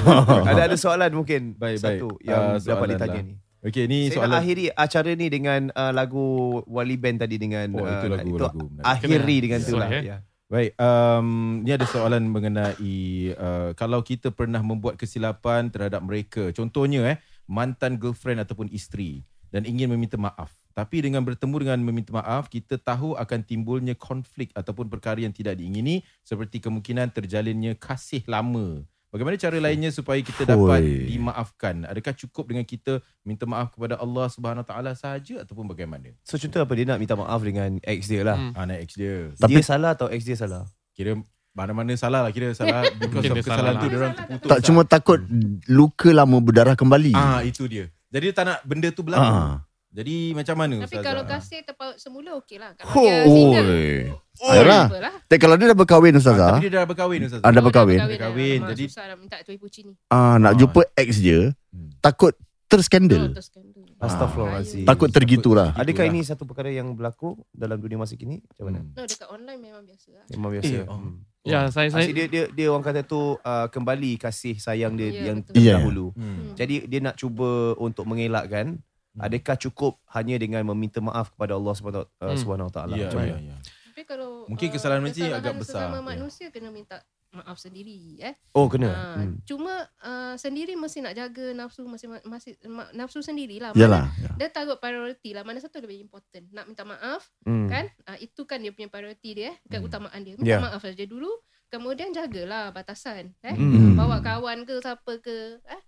Ada ada soalan mungkin Baik, satu baik. yang Ah, dapat soalan ditanya lah. ni. Okey, ni Saya soalan. nak akhiri acara ni dengan uh, lagu Wali Band tadi dengan Oh, itu uh, lagu, itu lagu. Menarik. akhiri Kena. dengan tu Sorry, lah. eh. Ya. Baik, um, ni ada soalan mengenai uh, kalau kita pernah membuat kesilapan terhadap mereka. Contohnya eh, mantan girlfriend ataupun isteri dan ingin meminta maaf. Tapi dengan bertemu dengan meminta maaf, kita tahu akan timbulnya konflik ataupun perkara yang tidak diingini seperti kemungkinan terjalinnya kasih lama. Bagaimana cara lainnya supaya kita dapat Oi. dimaafkan? Adakah cukup dengan kita minta maaf kepada Allah Subhanahu Wa Taala sahaja ataupun bagaimana? So contoh apa, dia nak minta maaf dengan ex dia lah. Hmm. Anak ex dia. Dia salah atau ex dia salah? Kira mana-mana salah lah, kira salah because Mungkin of dia kesalahan salah tu lah. dia orang terputus. Tak cuma takut luka lama berdarah kembali. Ah, itu dia. Jadi dia tak nak benda tu berlaku. Ah. Jadi macam mana Tapi Ustazah? kalau kasih terpaut semula okey lah. Kalau Oh, dia single, Oh. Ayolah. apa lah. Tapi kalau dia dah berkahwin Ah, Ustazah. tapi dia dah berkahwin Ustazah. Anda Oh, dah berkahwin? Dah kahwin, Alamak, jadi- susah nak minta tuai puci ni. Ah, nak Ah. jumpa ex dia, Hmm. takut Oh, terskandal. terus skandal. Astaghfirullahaladzim. Takut tergitu lah. Adakah Itulah. ini satu perkara yang berlaku dalam dunia masa kini? Macam mana? Hmm. No, dekat online memang biasa lah. Memang biasa. Eh, oh. Hmm. Ya, saya saya Asyik dia, dia dia orang kata tu uh, kembali kasih sayang dia Ya, yang betul. terdahulu. Hmm. Hmm. Jadi dia nak cuba untuk mengelakkan. Adakah cukup hanya dengan meminta maaf kepada Allah Subhanahu Hmm. Subhanahu Taala? Ya, Macam ya, mana? ya. Tapi kalau Mungkin uh, kesalahan macam ni kesalahan agak besar. sesama Ya. manusia kena minta maaf sendiri eh. Oh kena. Ah, Hmm. Cuma uh, sendiri mesti nak jaga nafsu masing masih ma- nafsu sendirilah. Yalah. Dia taruh priority lah. Mana satu lebih important. Nak minta maaf Hmm. kan? Uh, itu kan dia punya priority dia, eh, keutamaan dia. Minta Ya. maaf saja dulu. Kemudian jagalah batasan eh. Hmm. Bawa kawan ke siapa ke eh.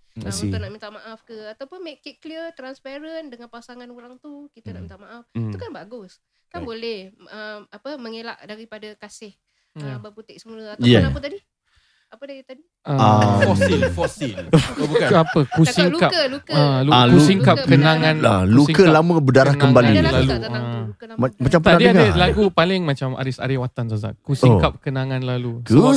Uh, I see. untuk nak minta maaf ke, ataupun make it clear, transparent dengan pasangan orang tu kita nak minta maaf. Hmm. Itu kan bagus. Kan Right. boleh uh, apa mengelak daripada kasih uh, Ya. berputik semula ataupun Yeah. apa tadi? Apa dia tadi? Ah, Fosil, fosil. Oh, bukan. ke apa? Cakap Kusingkap. luka, luka. Ah, lu- Ah, kusingkap luka kenangan. Lah, luka kusingkap lama berdarah kenangan kembali. Ada lagu lalu. tak tentang Ah. tu? Luka lama Ma- berdarah. macam Tak, pernah dia ada dengar. lagu paling macam Aris Aryawatan Ustazah. Kusingkap kenangan lalu.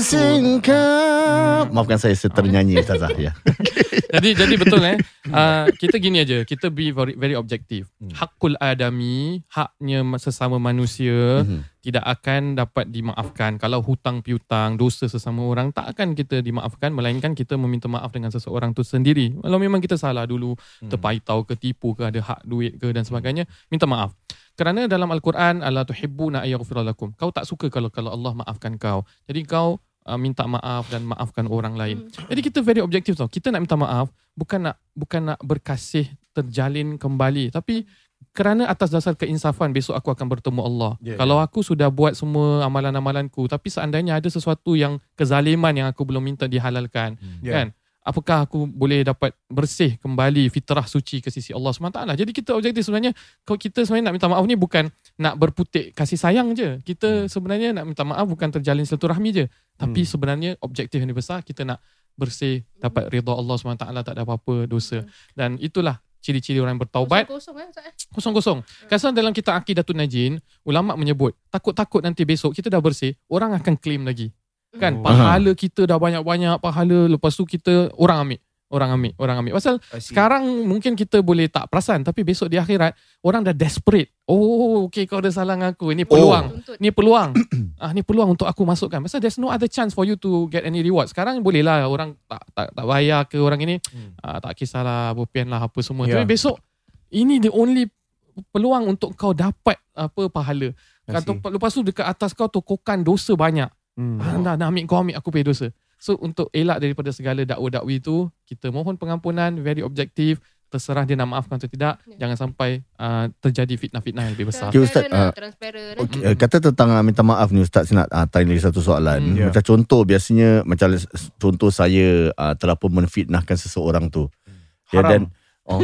Kusingkap. Maafkan saya seternyanyi Ustazah ya. jadi jadi betul eh. Uh, kita gini aja, kita be very, very objektif. Hmm. Hakul adami, haknya sesama manusia Mhm. tidak akan dapat dimaafkan. Kalau hutang piutang, dosa sesama orang tak akan kita dimaafkan, melainkan kita meminta maaf dengan seseorang tu sendiri. Kalau memang kita salah dulu, Hmm. terpaitau ke, tipu ke, ada hak duit ke dan sebagainya, minta maaf. Kerana dalam Al-Quran, Allah tuhibbuna ayyaghfira lakum. Kau tak suka kalau kalau Allah maafkan kau. Jadi kau uh, minta maaf dan maafkan orang lain. Jadi kita very objektif tau. Kita nak minta maaf bukan nak bukan nak berkasih terjalin kembali, tapi kerana atas dasar keinsafan besok aku akan bertemu Allah. Yeah, Kalau aku sudah buat semua amalan-amalanku, tapi seandainya ada sesuatu yang kezaliman yang aku belum minta dihalalkan, Yeah. kan? Apakah aku boleh dapat bersih kembali fitrah suci ke sisi Allah subhanahu wa taala? Jadi kita objektif sebenarnya, kalau kita sebenarnya nak minta maaf ni bukan nak berputik kasih sayang je. Kita sebenarnya nak minta maaf bukan terjalin silaturahmi je. Tapi sebenarnya objektif yang besar, kita nak bersih, dapat redha Allah subhanahu wa taala, tak ada apa-apa dosa. Dan itulah ciri-ciri orang yang bertaubat. Kosong-kosong eh Ustaz eh? Kosong-kosong. Kadang dalam kitab Aqidatun Najin, ulama menyebut, takut-takut nanti besok kita dah bersih, orang akan claim lagi. Kan, Oh. pahala kita dah banyak-banyak pahala, lepas tu kita orang ambil. Orang ambil, orang ambil. Pasal I see. sekarang mungkin kita boleh tak perasan, tapi besok di akhirat orang dah desperate. Oh, okay, kau dah salah dengan aku. Ini peluang. Tuntut. Ni peluang. ah, ni peluang untuk aku masukkan. Pasal there's no other chance for you to get any reward. Sekarang boleh lah orang tak tak tak bayar ke orang ini. Hmm. Ah, tak kisahlah, bopian lah apa semua. Yeah. Tapi besok ini the only peluang untuk kau dapat apa pahala. I Atau see. lepas tu dekat atas kau tokokan dosa banyak. Hmm. Ah, nak, nak ambil kau ambil aku punya dosa. So untuk elak daripada segala dakwa-dakwi itu, kita mohon pengampunan, very objektif, terserah dia nak maafkan atau tidak. Ya. Jangan sampai uh, terjadi fitnah-fitnah yang lebih besar. Okay, Ustaz, Transparent lah, ah, transparent. Okay, uh, kata tentang uh, minta maaf ni Ustaz, saya nak uh, tanya lagi satu soalan. Hmm. Ya. Macam contoh biasanya macam contoh saya uh, terlalu menfitnahkan seseorang tu. Ya, Haram. dan oh.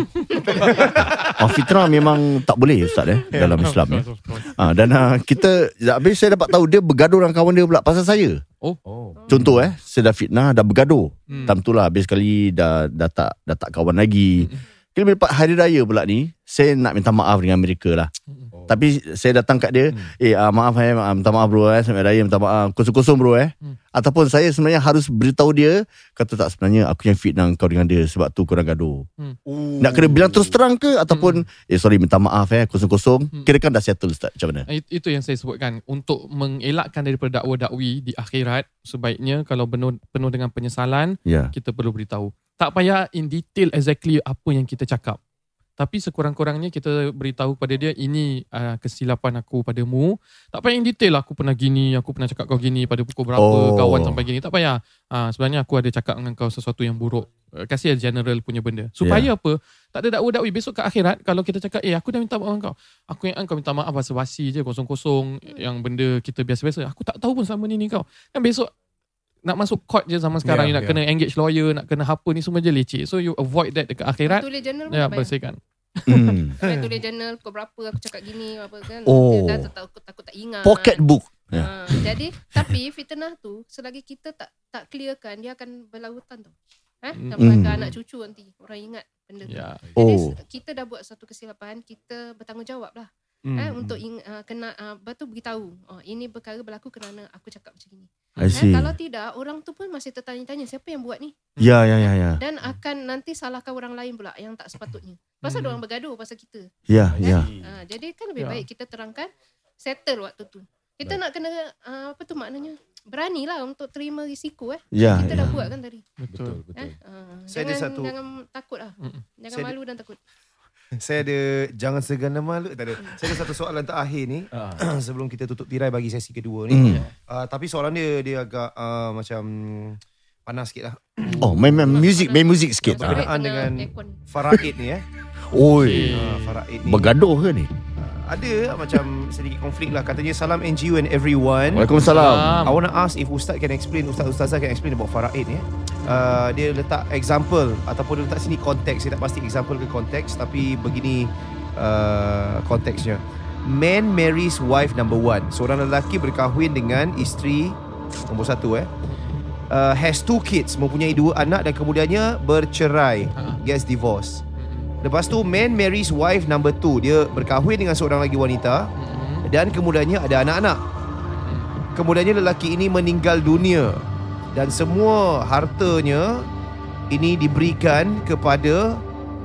oh fitrah memang tak boleh Ustaz eh dalam Islam ya. Ah, dan uh, kita habis saya dapat tahu dia bergaduh dengan kawan dia pula pasal saya. Oh. Contoh eh, saya dah fitnah, dah bergaduh. Hmm. Time tu lah habis sekali dah dah tak dah tak kawan lagi. Kira lepas hari raya pula ni, saya nak minta maaf dengan mereka lah. Oh. Tapi saya datang kat dia, Hmm. eh uh, maaf eh, uh, minta maaf bro eh, sampai raya minta maaf, kosong-kosong bro eh. Hmm. Ataupun saya sebenarnya harus beritahu dia, kata tak sebenarnya aku yang fitnah kau dengan dia sebab tu korang gaduh. Nak kena bilang terus terang ke ataupun eh sorry minta maaf eh, kosong-kosong. Hmm. Kira kan dah settle Ustaz, macam mana? It- Itu yang saya sebutkan. Untuk mengelakkan daripada dakwa-dakwi di akhirat, sebaiknya kalau penuh, penuh dengan penyesalan, Ya. kita perlu beritahu. Tak payah in detail exactly apa yang kita cakap. Tapi sekurang-kurangnya kita beritahu kepada dia, ini uh, kesilapan aku padamu. Tak payah in detail, aku pernah gini, aku pernah cakap kau gini pada pukul berapa, Oh. kawan sampai gini. Tak payah. Uh, sebenarnya aku ada cakap dengan kau sesuatu yang buruk. Uh, kasih general punya benda. Supaya Yeah. apa? Tak ada dakwa-dakwi. Besok ke akhirat, kalau kita cakap, eh aku dah minta maaf kau. Aku yang kau minta maaf basa-basi je, kosong-kosong. Yang benda kita biasa-biasa. Aku tak tahu pun selama ni ni kau. Kan besok nak masuk court je zaman sekarang, Yeah, you nak yeah. kena engage lawyer, nak kena apa ni semua je leceh. So you avoid that dekat akhirat. Tulis journal pun Ya, tak payah. bersihkan. Hmm. Sampai tulis journal pukul berapa aku cakap gini apa kan. Oh. Dia dah takut takut tak ingat. Pocket book. Ya. Ha, jadi tapi fitnah tu selagi kita tak tak clearkan, dia akan berlarutan tau. Eh, Hmm. sampai ke Hmm. anak cucu nanti orang ingat benda tu. Ya. Jadi Oh. kita dah buat satu kesilapan, kita bertanggungjawab lah. Hmm. Eh, untuk ing, uh, kena uh, batu beritahu. Oh, ini perkara berlaku kerana aku cakap macam ni. I Eh, see. kalau tidak, orang tu pun masih tertanya-tanya siapa yang buat ni, Ya, ya, ya, ya. dan akan nanti salahkan orang lain pula yang tak sepatutnya. Pasal Hmm. orang bergaduh pasal kita. Ya, ya. Ha, jadi kan lebih Ya. baik kita terangkan, settle waktu tu. Kita nak kena uh, apa tu maknanya? Beranilah untuk terima risiko eh. Ya, Kita ya. dah buat kan tadi. Betul. Betul, Eh, betul. uh, Saya ada jangan satu- jangan takut lah. Mm-mm. Jangan Saya ada- malu dan takut. Saya ada jangan segan dan malu. Tak ada. Saya ada satu soalan terakhir ni Ah. sebelum kita tutup tirai bagi sesi kedua ni. Hmm. Uh, tapi soalan dia dia agak uh, macam panas sikit lah. Oh, main, main music, main music sikit. Berkenaan Berkenaan dengan aircon. Faraid ni eh. Oi, Uh, Faraid ni. bergaduh ke ni? Uh, ada macam sedikit konflik lah. Katanya salam N G U and everyone. Waalaikumsalam. I want to ask if Ustaz can explain, Ustaz Ustazah can explain about faraid ya. Uh, dia letak example ataupun dia letak sini konteks. Saya tak pasti example ke konteks, tapi begini uh, konteksnya. Man marries wife number one. Seorang lelaki berkahwin dengan isteri nombor satu eh. Uh, has two kids, mempunyai dua anak dan kemudiannya bercerai, gets divorced. Lepas tu man marries wife number two. Dia berkahwin dengan seorang lagi wanita dan kemudiannya ada anak-anak. Kemudiannya lelaki ini meninggal dunia dan semua hartanya ini diberikan kepada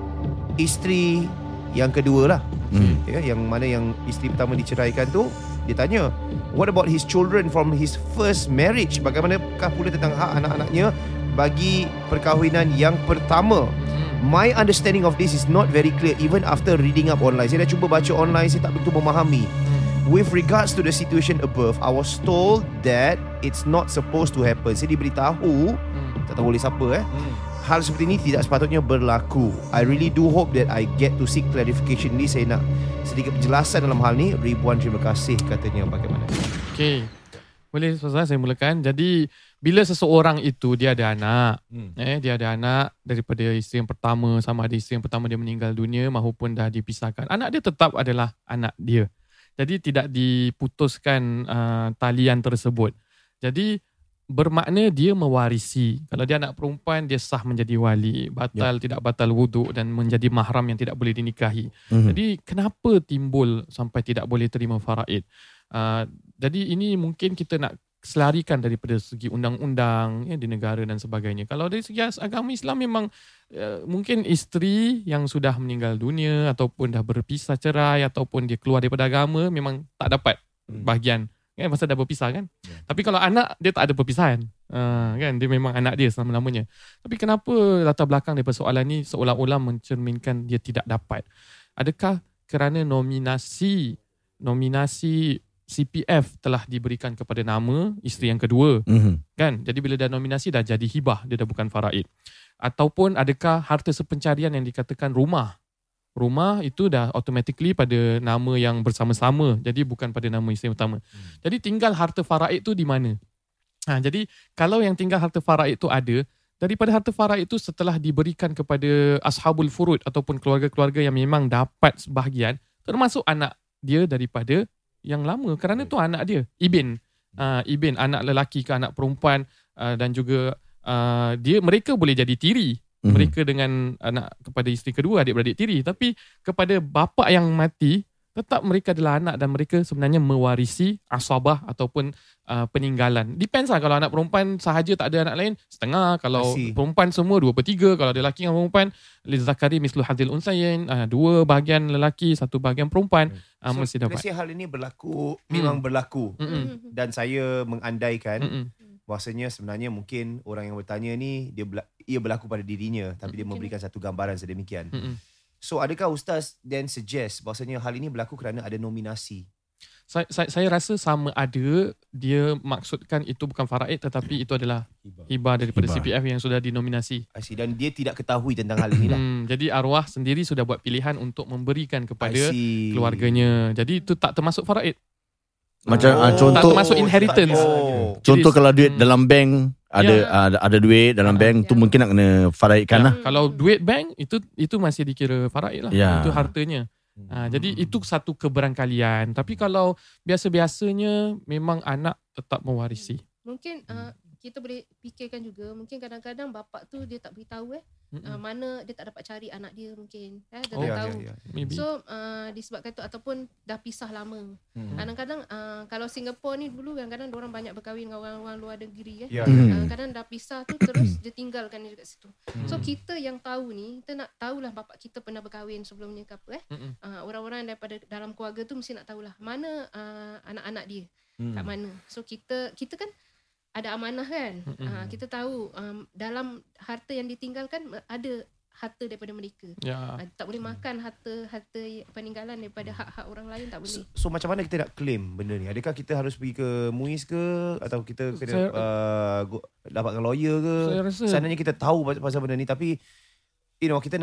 isteri yang kedua lah. Hmm. Ya, yang mana yang isteri pertama diceraikan tu, dia tanya, what about his children from his first marriage? Bagaimanakah pula tentang hak anak-anaknya bagi perkahwinan yang pertama? My understanding of this is not very clear even after reading up online. Saya dah cuba baca online, saya tak betul memahami. With regards to the situation above, I was told that it's not supposed to happen. Saya diberitahu, hmm. tak tahu oleh siapa eh, hmm. hal seperti ini tidak sepatutnya berlaku. I really do hope that I get to seek clarification ni. Saya nak sedikit penjelasan dalam hal ni. Ribuan terima kasih, katanya. Bagaimana? Okay, boleh Ustazah saya mulakan. Jadi bila seseorang itu dia ada anak, hmm. eh dia ada anak daripada isteri yang pertama, sama ada isteri yang pertama dia meninggal dunia maupun dah dipisahkan, anak dia tetap adalah anak dia. Jadi tidak diputuskan uh, talian tersebut. Jadi bermakna dia mewarisi. Kalau dia anak perempuan, dia sah menjadi wali, batal ya. Tidak batal wuduk dan menjadi mahram yang tidak boleh dinikahi. Hmm. Jadi kenapa timbul sampai tidak boleh terima faraid? Uh, jadi ini mungkin kita nak selarikan daripada segi undang-undang ya, di negara dan sebagainya. Kalau dari segi agama Islam memang uh, mungkin isteri yang sudah meninggal dunia ataupun dah berpisah cerai ataupun dia keluar daripada agama memang tak dapat hmm. bahagian kan, masa dah berpisah kan. Yeah. Tapi kalau anak dia tak ada perpisahan. Uh, kan dia memang anak dia selama-lamanya. Tapi kenapa latar belakang daripada soalan ni seolah-olah mencerminkan dia tidak dapat? Adakah kerana nominasi nominasi C P F telah diberikan kepada nama isteri yang kedua, mm-hmm. kan? Jadi bila dah nominasi dah jadi hibah, dia dah bukan faraid. Ataupun adakah harta sepencarian yang dikatakan rumah? Rumah itu dah automatically pada nama yang bersama-sama, jadi bukan pada nama isteri utama. Hmm. Jadi tinggal harta faraid tu di mana? Ha, jadi kalau yang tinggal harta faraid tu ada, daripada harta faraid itu setelah diberikan kepada ashabul furud ataupun keluarga-keluarga yang memang dapat sebahagian, termasuk anak dia daripada yang lama, kerana tu anak dia, ibn, uh, ibn anak lelaki ke anak perempuan, uh, dan juga uh, dia mereka boleh jadi tiri, mm-hmm. mereka dengan anak kepada isteri kedua, adik-beradik tiri, tapi kepada bapa yang mati tetap mereka adalah anak dan mereka sebenarnya mewarisi asabah ataupun uh, peninggalan. Depends lah, kalau anak perempuan sahaja tak ada anak lain, setengah. Kalau Masih. perempuan semua, dua per tiga. Kalau ada lelaki dengan perempuan, lizakari mislu hadzil unsayain, uh, dua bahagian lelaki, satu bahagian perempuan, uh, so, mesti dapat. So, hal ini berlaku, hmm. memang berlaku. Hmm. Dan saya mengandaikan hmm. bahasanya sebenarnya mungkin orang yang bertanya ni, dia berlaku, ia berlaku pada dirinya, tapi hmm. dia memberikan satu gambaran sedemikian. Hmm. So adakah Ustaz then suggest bahasanya hal ini berlaku kerana ada nominasi? Saya, saya, saya rasa sama ada dia maksudkan itu bukan faraid tetapi itu adalah hibah daripada hibah. C P F yang sudah dinominasi. I see. Dan dia tidak ketahui tentang hal ini lah. Hmm, jadi arwah sendiri sudah buat pilihan untuk memberikan kepada keluarganya. Jadi itu tak termasuk faraid. Macam oh, uh, contoh tak termasuk inheritance. Oh. Contoh jadi, kalau duit hmm. dalam bank ada ya. ada, ada duit dalam bank ya. tu mungkin nak kena faraidkan ya. lah. Kalau duit bank itu itu masih dikira faraid lah. Ya. Itu hartanya. Hmm. Ha, jadi itu satu keberangkalian. Tapi kalau biasa-biasanya memang anak tetap mewarisi. Mungkin uh, kita boleh fikirkan juga, mungkin kadang-kadang bapak tu dia tak beritahu eh uh, mana dia tak dapat cari anak dia mungkin eh dia oh, tak yeah, tahu. Yeah, yeah. So uh, disebabkan tu ataupun dah pisah lama. Hmm. Kadang-kadang uh, kalau Singapura ni dulu kadang-kadang orang banyak berkahwin dengan orang-orang luar negeri eh. Yeah. Uh, kadang dah pisah tu terus dia tinggalkan dia dekat situ. Hmm. So kita yang tahu ni, kita nak tahulah bapak kita pernah berkahwin sebelumnya ke apa eh. Uh, orang-orang daripada dalam keluarga tu mesti nak tahulah mana uh, anak-anak dia. Hmm. Kat mana. So kita kita kan ada amanah kan. Mm-hmm. Ha, kita tahu um, dalam harta yang ditinggalkan ada harta daripada mereka. Ya. Ha, tak boleh makan harta harta peninggalan daripada hak-hak orang lain, tak boleh. So, so macam mana kita nak claim benda ni? Adakah kita harus pergi ke MUIS ke atau kita kena saya, uh, go, dapatkan lawyer ke? Seandainya kita tahu pasal benda ni tapi you know kita nak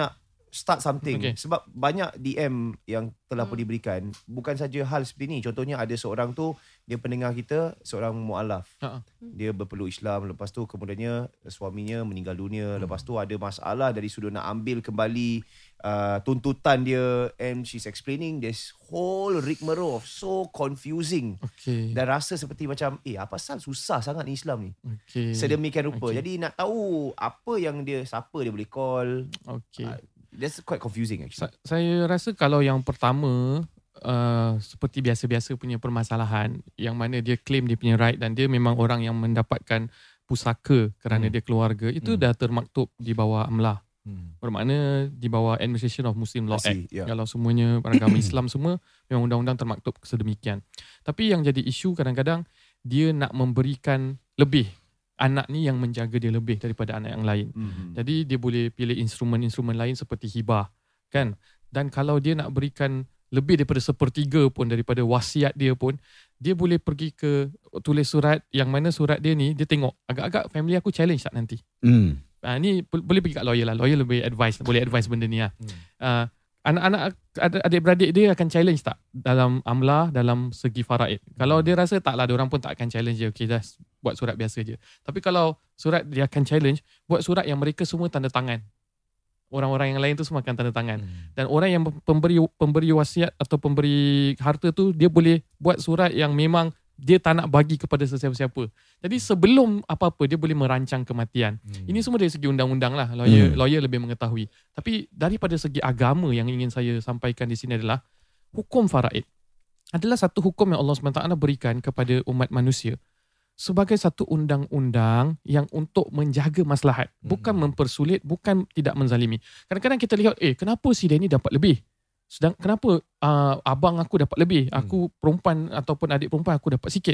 start something. Okay. Sebab banyak D M yang telah pun Hmm. diberikan. Bukan saja hal seperti ni. Contohnya ada seorang tu, dia pendengar kita, seorang mu'alaf. Ha. Dia berpeluk Islam. Lepas tu kemudiannya suaminya meninggal dunia. Lepas tu ada masalah dari sudut nak ambil kembali uh, tuntutan dia. And she's explaining this whole rigmarole of so confusing. Okay. Dan rasa seperti macam, eh apa pasal susah sangat ni Islam ni. Okay. Sedemikian rupa. Okay. Jadi nak tahu apa yang dia, siapa dia boleh call. Okay. Uh, That's quite confusing actually. Sa- saya rasa kalau yang pertama uh, seperti biasa-biasa punya permasalahan yang mana dia claim dia punya right dan dia memang orang yang mendapatkan pusaka kerana Hmm. dia keluarga, itu Hmm. dah termaktub di bawah amlah. Hmm. Bermakna di bawah Administration of Muslim Law I see, Act. yeah. Kalau semuanya agama Islam semua memang undang-undang termaktub sedemikian. Tapi yang jadi isu kadang-kadang dia nak memberikan lebih. Anak ni yang menjaga dia lebih daripada anak yang lain. Mm-hmm. Jadi dia boleh pilih instrumen-instrumen lain seperti hibah, kan? Dan kalau dia nak berikan lebih daripada sepertiga pun daripada wasiat dia pun, dia boleh pergi ke tulis surat yang mana surat dia ni dia tengok agak-agak family aku challenge tak nanti. Hmm. Ah ni boleh pergi kat lawyer lah. Lawyer lebih advice, boleh advice benda ni lah. Hmm. Uh, anak-anak adik-beradik dia akan challenge tak dalam amlah, dalam segi faraid. Kalau dia rasa tak lah, diorang pun tak akan challenge dia. Okay, just buat surat biasa je. Tapi kalau surat dia akan challenge, buat surat yang mereka semua tanda tangan. Orang-orang yang lain tu semua akan tanda tangan. Hmm. Dan orang yang pemberi pemberi wasiat atau pemberi harta tu, dia boleh buat surat yang memang dia tak nak bagi kepada sesiapa-siapa. Jadi sebelum apa-apa dia boleh merancang kematian. Hmm. Ini semua dari segi undang-undang lah. Lawyer, Hmm. lawyer lebih mengetahui. Tapi daripada segi agama yang ingin saya sampaikan di sini adalah hukum faraid adalah satu hukum yang Allah subhanahu wa taala berikan kepada umat manusia sebagai satu undang-undang yang untuk menjaga maslahat. Bukan Hmm. mempersulit, bukan tidak menzalimi. Kadang-kadang kita lihat, eh kenapa si dia ni dapat lebih? Sedang kenapa uh, abang aku dapat lebih, aku perempuan ataupun adik perempuan aku dapat sikit.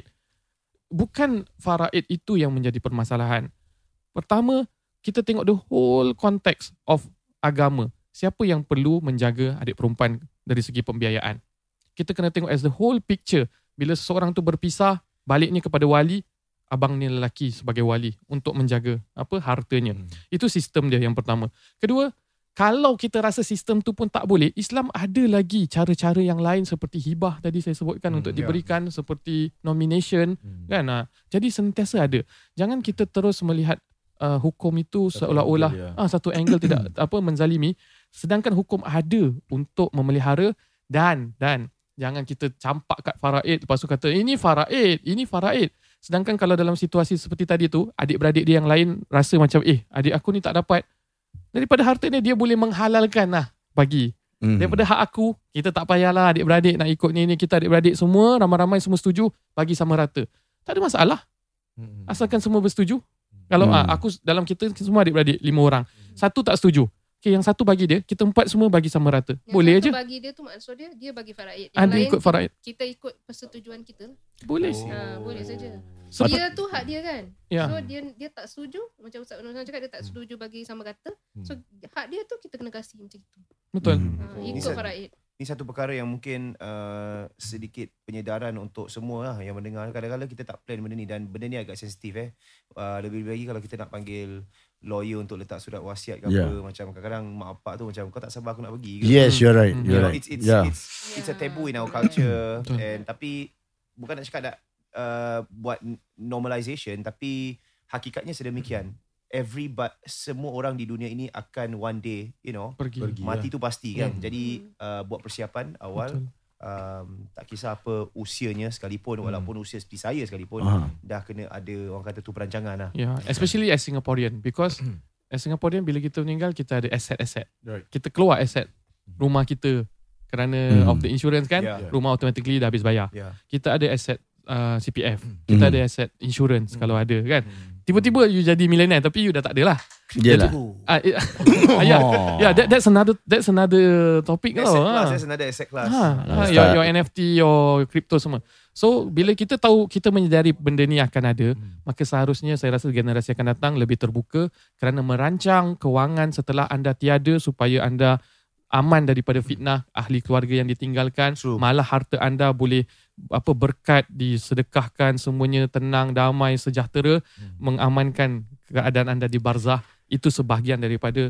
Bukan faraid itu yang menjadi permasalahan. Pertama, kita tengok the whole context of agama. Siapa yang perlu menjaga adik perempuan dari segi pembiayaan? Kita kena tengok as the whole picture. Bila seseorang tu berpisah, baliknya kepada wali, abang ni lelaki sebagai wali untuk menjaga apa hartanya. Hmm. Itu sistem dia yang pertama. Kedua, kalau kita rasa sistem tu pun tak boleh, Islam ada lagi cara-cara yang lain seperti hibah tadi saya sebutkan Hmm, untuk ya. diberikan, seperti nomination, Hmm. kan? Ha. Jadi sentiasa ada. Jangan kita terus melihat uh, hukum itu Satu seolah-olah angle, ya. ah, satu angle tidak apa menzalimi, sedangkan hukum ada untuk memelihara dan dan jangan kita campak kat faraid lepas tu kata ini faraid, ini faraid. Sedangkan kalau dalam situasi seperti tadi tu, adik-beradik dia yang lain rasa macam eh adik aku ni tak dapat, daripada harta ni dia boleh menghalalkan lah bagi. Hmm. Daripada hak aku, kita tak payahlah adik-beradik nak ikut ni ni, kita adik-beradik semua ramai-ramai semua setuju, bagi sama rata. Tak ada masalah Hmm. asalkan semua bersetuju. Kalau Hmm. ah, aku dalam kita semua adik-beradik lima orang, satu tak setuju. Okay, yang satu bagi dia, kita empat semua bagi sama rata. Yang Boleh satu aje. bagi dia tu maksud dia dia bagi faraid. Yang Ada lain ikut faraid. kita ikut persetujuan kita. Boleh. Oh. Ha, boleh saja. Sebab- Dia tu hak dia kan. Ya. So dia dia tak setuju, macam Ustaz Nur cakap dia tak setuju bagi sama rata. So hak dia tu kita kena kasih macam itu. Betul. Hmm. Ha, Oh. ikut Ni- faraid. Ini satu perkara yang mungkin uh, sedikit penyedaran untuk semua lah yang mendengar. Kadang-kadang kita tak plan benda ni dan benda ni agak sensitif eh. Uh, lebih-lebih lagi kalau kita nak panggil lawyer untuk letak surat wasiat ke Yeah. apa. Macam kadang-kadang mak bapak tu macam kau tak sabar aku nak pergi ke. Yes, you're right. Hmm. You You're know, right. it's it's Yeah. it's it's a taboo in our culture. Betul. And tapi bukan nak cakap nak uh, buat normalization, tapi hakikatnya sedemikian. Every but semua orang di dunia ini akan one day, you know, Pergi. Pergi. mati tu pasti kan. Hmm. Jadi uh, buat persiapan awal. Betul. Um, tak kisah apa usianya sekalipun, Hmm. walaupun usia seperti saya sekalipun, Aha. dah kena ada orang kata tu perancangan lah. Yeah, especially as Singaporean, because as Singaporean bila kita meninggal kita ada aset-aset. Right. Kita keluar aset rumah kita kerana Hmm. of the insurance kan, Yeah. rumah automatically dah habis bayar. Ya. Kita ada aset uh, C P F, kita Hmm. ada aset insurance Hmm. kalau ada kan. Hmm. Tiba-tiba you jadi millionaire tapi you dah tak ada lah. Yelah. Ah, eh, ah, yeah, yeah, that, that's another that's another topic Asset tau. class, ah. that's another asset class. Ha, ha, Ustaz. your, your N F T, your crypto semua. So bila kita tahu, kita menyedari benda ni akan ada, Hmm. maka seharusnya saya rasa generasi akan datang lebih terbuka kerana merancang kewangan setelah anda tiada supaya anda aman daripada fitnah ahli keluarga yang ditinggalkan. True. Malah harta anda boleh apa berkat disedekahkan, semuanya tenang, damai, sejahtera, Hmm. mengamankan keadaan anda di barzah. Itu sebahagian daripada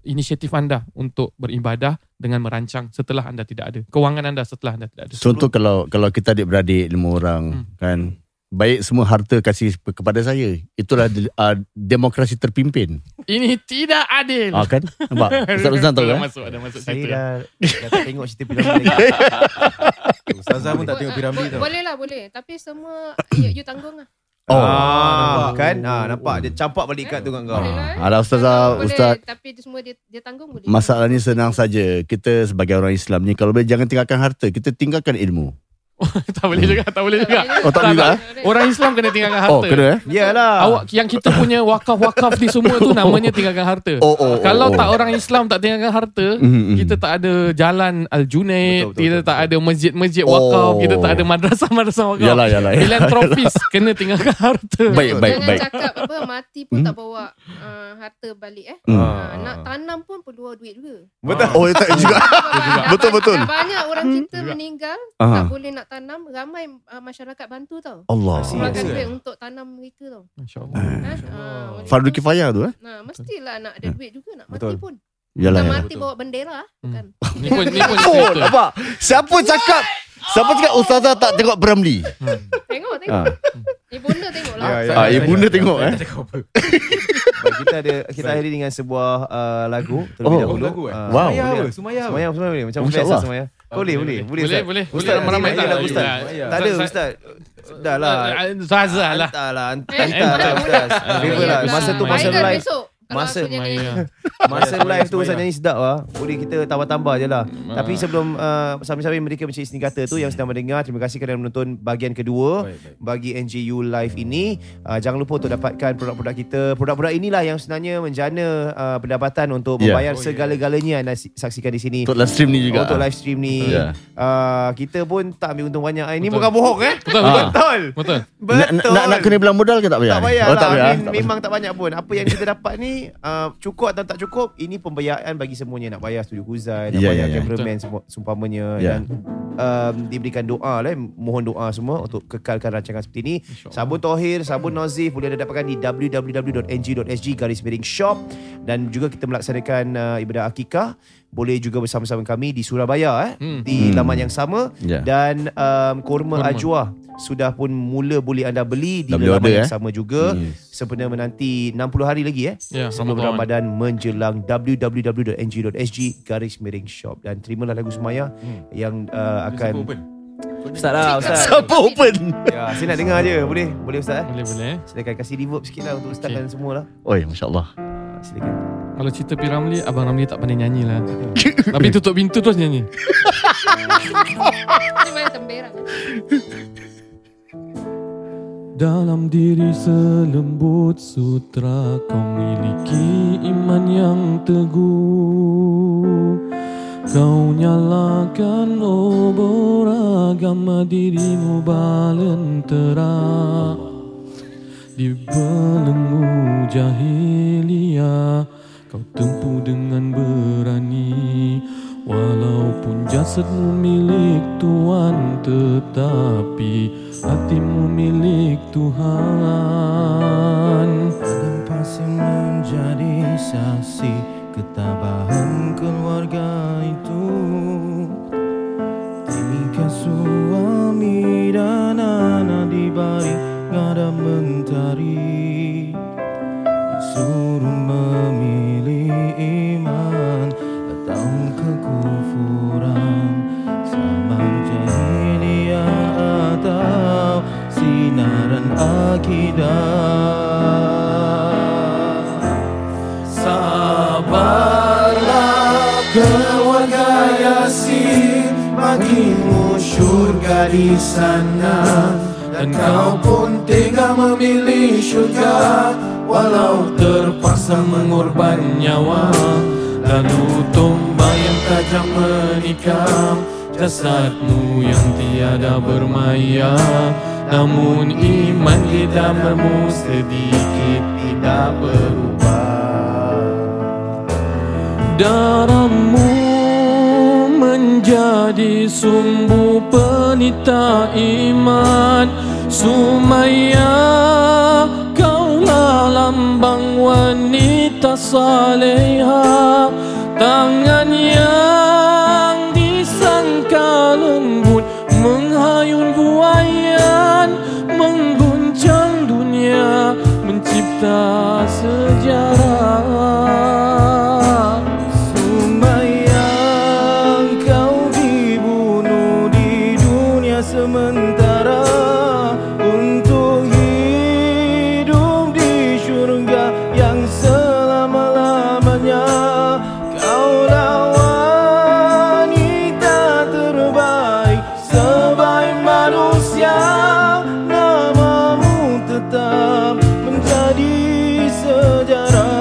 inisiatif anda untuk beribadah dengan merancang setelah anda tidak ada. Kewangan anda setelah anda tidak ada. Contoh kalau kalau kita adik-beradik lima orang hmm. kan, baik semua harta kasih kepada saya. Itulah uh, demokrasi terpimpin. Ini tidak adil. Ah kan? Nampak? Ustaz-ustaz tahu kan? Masuk, ada masuk Saya situ. dah, dah tak tengok cerita Piramli. Ustazah pun tak tengok Piramli tau. Boleh lah, boleh. Tapi semua you, you tanggung lah. Oh, ah, kan? Ah, nampak dia campak balik kad tu kat kau. Boleh lah. eh. Alah ustazah, Boleh, ustaz. Tapi dia semua dia, dia tanggung boleh. Masalahnya senang saja. Kita sebagai orang Islam ni, kalau boleh jangan tinggalkan harta, kita tinggalkan ilmu. tak boleh juga, tak boleh juga. Oh, tak boleh juga, Orang Islam kena tinggalkan harta. Oh, kena eh? Yalah. Awak yang kita punya wakaf-wakaf ni semua tu namanya tinggalkan harta. Oh, oh, Kalau oh, oh. tak orang Islam tak tinggalkan harta, Mm-hmm. kita tak ada jalan Al-Junaid, Betul, betul, kita betul, tak betul. ada masjid-masjid wakaf, Oh. kita tak ada madrasah-madrasah wakaf. Yalah, yalah, yalah. Filantropis kena tinggalkan harta. Baik, baik, Jangan baik. cakap apa mati pun Hmm. tak bawa uh, harta balik eh. Hmm. Uh, nak tanam pun perlu duit juga. Betul. Oh, tak juga. Dah Betul, ba- betul. dah banyak orang kita meninggal Aha. tak boleh nak tanam, ramai uh, masyarakat bantu tau. Allah. Keluarkan Yes. duit untuk tanam mereka tau. Masya-Allah. Ha? Uh, Fardu kifayah tu eh? Nah, mestilah nak ada duit juga nak mati Betul. pun. Yalah, Nak yalah. mati bawa bendera bukan. Ni pun ni pun Oh, cerita. nampak? Siapa cakap? Siapa cakap ustazah tak tengok Piramli? Tengok tengok. Ah. Ibunda tengok lah. Ya, ya. Ah, ibunda tengok eh. Baik, kita ada kita akhiri dengan sebuah uh, lagu terlebih Oh, dahulu. lagu eh? Ah, Wow. Sumaya boleh. apa? Sumaya apa? Semaya semaya boleh. Macam Masya biasa Allah. semaya. Boleh, boleh, boleh. Boleh, Ustaz. boleh. Ustaz, Boleh, ramai ramai tak lagu tak Ustaz? lagu. Ya. Tak ada Ustaz- Ustaz. Dah lah. Zazah lah. Hantar lah. Eh, Hantar lah Ustaz. Favor lah. Masa tu masa Final live. besok. Kalau Masa- aku nyanyi. Maya. Masa Semaya, live tu semaya. Ustaz nyanyi sedap lah. Boleh kita tambah-tambah je lah. Ah. Tapi sebelum uh, sambil-sambil mereka mencari seni kata tu yang sedang mendengar, terima kasih kerana menonton bahagian kedua Baik, baik. bagi N J U Live ini. Uh, jangan lupa untuk dapatkan produk-produk kita. Produk-produk inilah yang sebenarnya menjana uh, pendapatan untuk Ya. membayar Oh, ya. segala-galanya anda si- saksikan di sini. Untuk live stream ni juga. Untuk live stream ni. Ya. Uh, kita pun tak ambil untung banyak. Ini Betul. bukan bohong eh? Betul, Ah. betul. Betul. Betul. Nak, nak, nak, nak kena bilang modal ke tak payah? Tak payah Oh, lah. tak payah. I mean, tak payah. memang tak banyak pun. Apa yang kita dapat ni uh, cukup atau tak cukup, ini pembiayaan bagi semuanya. Nak bayar studio Huzai, nak Ya, bayar ya, ya. cameraman semua sumpamanya, Ya. dan um, diberikan doa lah, mohon doa semua untuk kekalkan rancangan seperti ini. Sabun Tohir, sabun Nozif boleh anda dapatkan di w w w dot n g dot s g garis miring shop, dan juga kita melaksanakan uh, ibadah akikah. Boleh juga bersama-sama kami di Surabaya eh, Hmm. di Hmm. laman yang sama. Ya. Dan um, kurma, Kurma. ajwa sudah pun mula boleh anda beli di Dah boleh laman order, yang eh? sama juga. Yes. Sempena menanti enam puluh hari lagi eh Ya, sebelum Ramadan. Ramadan menjelang w w w dot n g dot s g garis miring shop. Dan terimalah lagu Sumaya yang uh, Siapa akan open? Ustaz lah Ustaz. Siapa open? Ya, saya nak dengar je. Boleh? Boleh Ustaz eh? Boleh, boleh. Silakan kasih reverb sikit lah untuk Ustaz Okay. dan semua lah. Oi, Masya Allah. Uh, silakan. Kalau cerita P. Ramlee, Abang Ramlee tak pandai nyanyi lah. Tapi tutup pintu terus nyanyi. Ini main temberang. Dalam diri selembut sutra kau miliki iman yang teguh. Kau nyalakan obor agama dirimu balentera. Di belenggu jahiliyah kau tempuh dengan berani. Walaupun jasadmu milik Tuhan, tetapi hatimu milik Tuhan. Dan pasti menjadi saksi ketabahan keluarga itu. Tingkah suami dan anak di balik ngada mentari, disuruh memilih iman atau kekufuran, sabar jahiliyah atau sinaran akidah. Sabarlah keluarga Yasin, bagimu syurga di sana. Dan kau pun tega memilih syurga, walau terpaksa mengorban nyawa. Lalu tombak yang tajam menikam jasadmu yang tiada bermaya. Namun iman di dalammu sedikit tidak berubah. Darahmu menjadi sumbu penita iman. Sumaya, kaulah lambang wanita wanita saleha, tangan yang disangka lembut menghayun buayan, mengguncang dunia, mencipta sejarah. Sumayang, kau dibunuh di dunia sementara untuk hidup di syurga yang selama-lamanya. Kaulah wanita terbaik sebaik manusia, namamu tetap menjadi sejarah.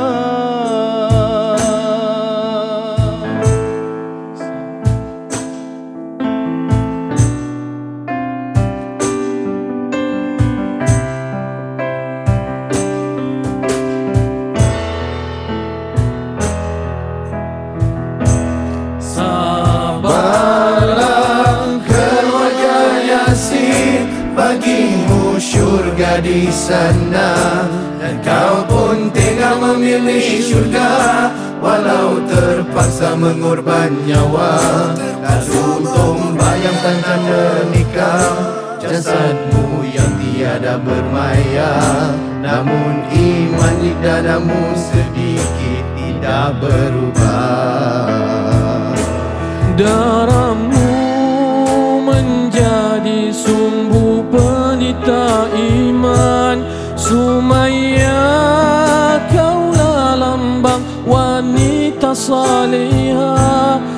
Sabarlah keluarga Yasin, bagimu syurga di sana. Dan kau pun tega memilih syurga, walau terpaksa mengorban nyawa. Lalu tombayangkan tanda nikah, jasadmu yang tiada bermaya. Namun iman di dadamu sedikit tidak berubah. Darahmu menjadi sumbu pelita iman. Sumaya, kaulah lambang wanita saleha,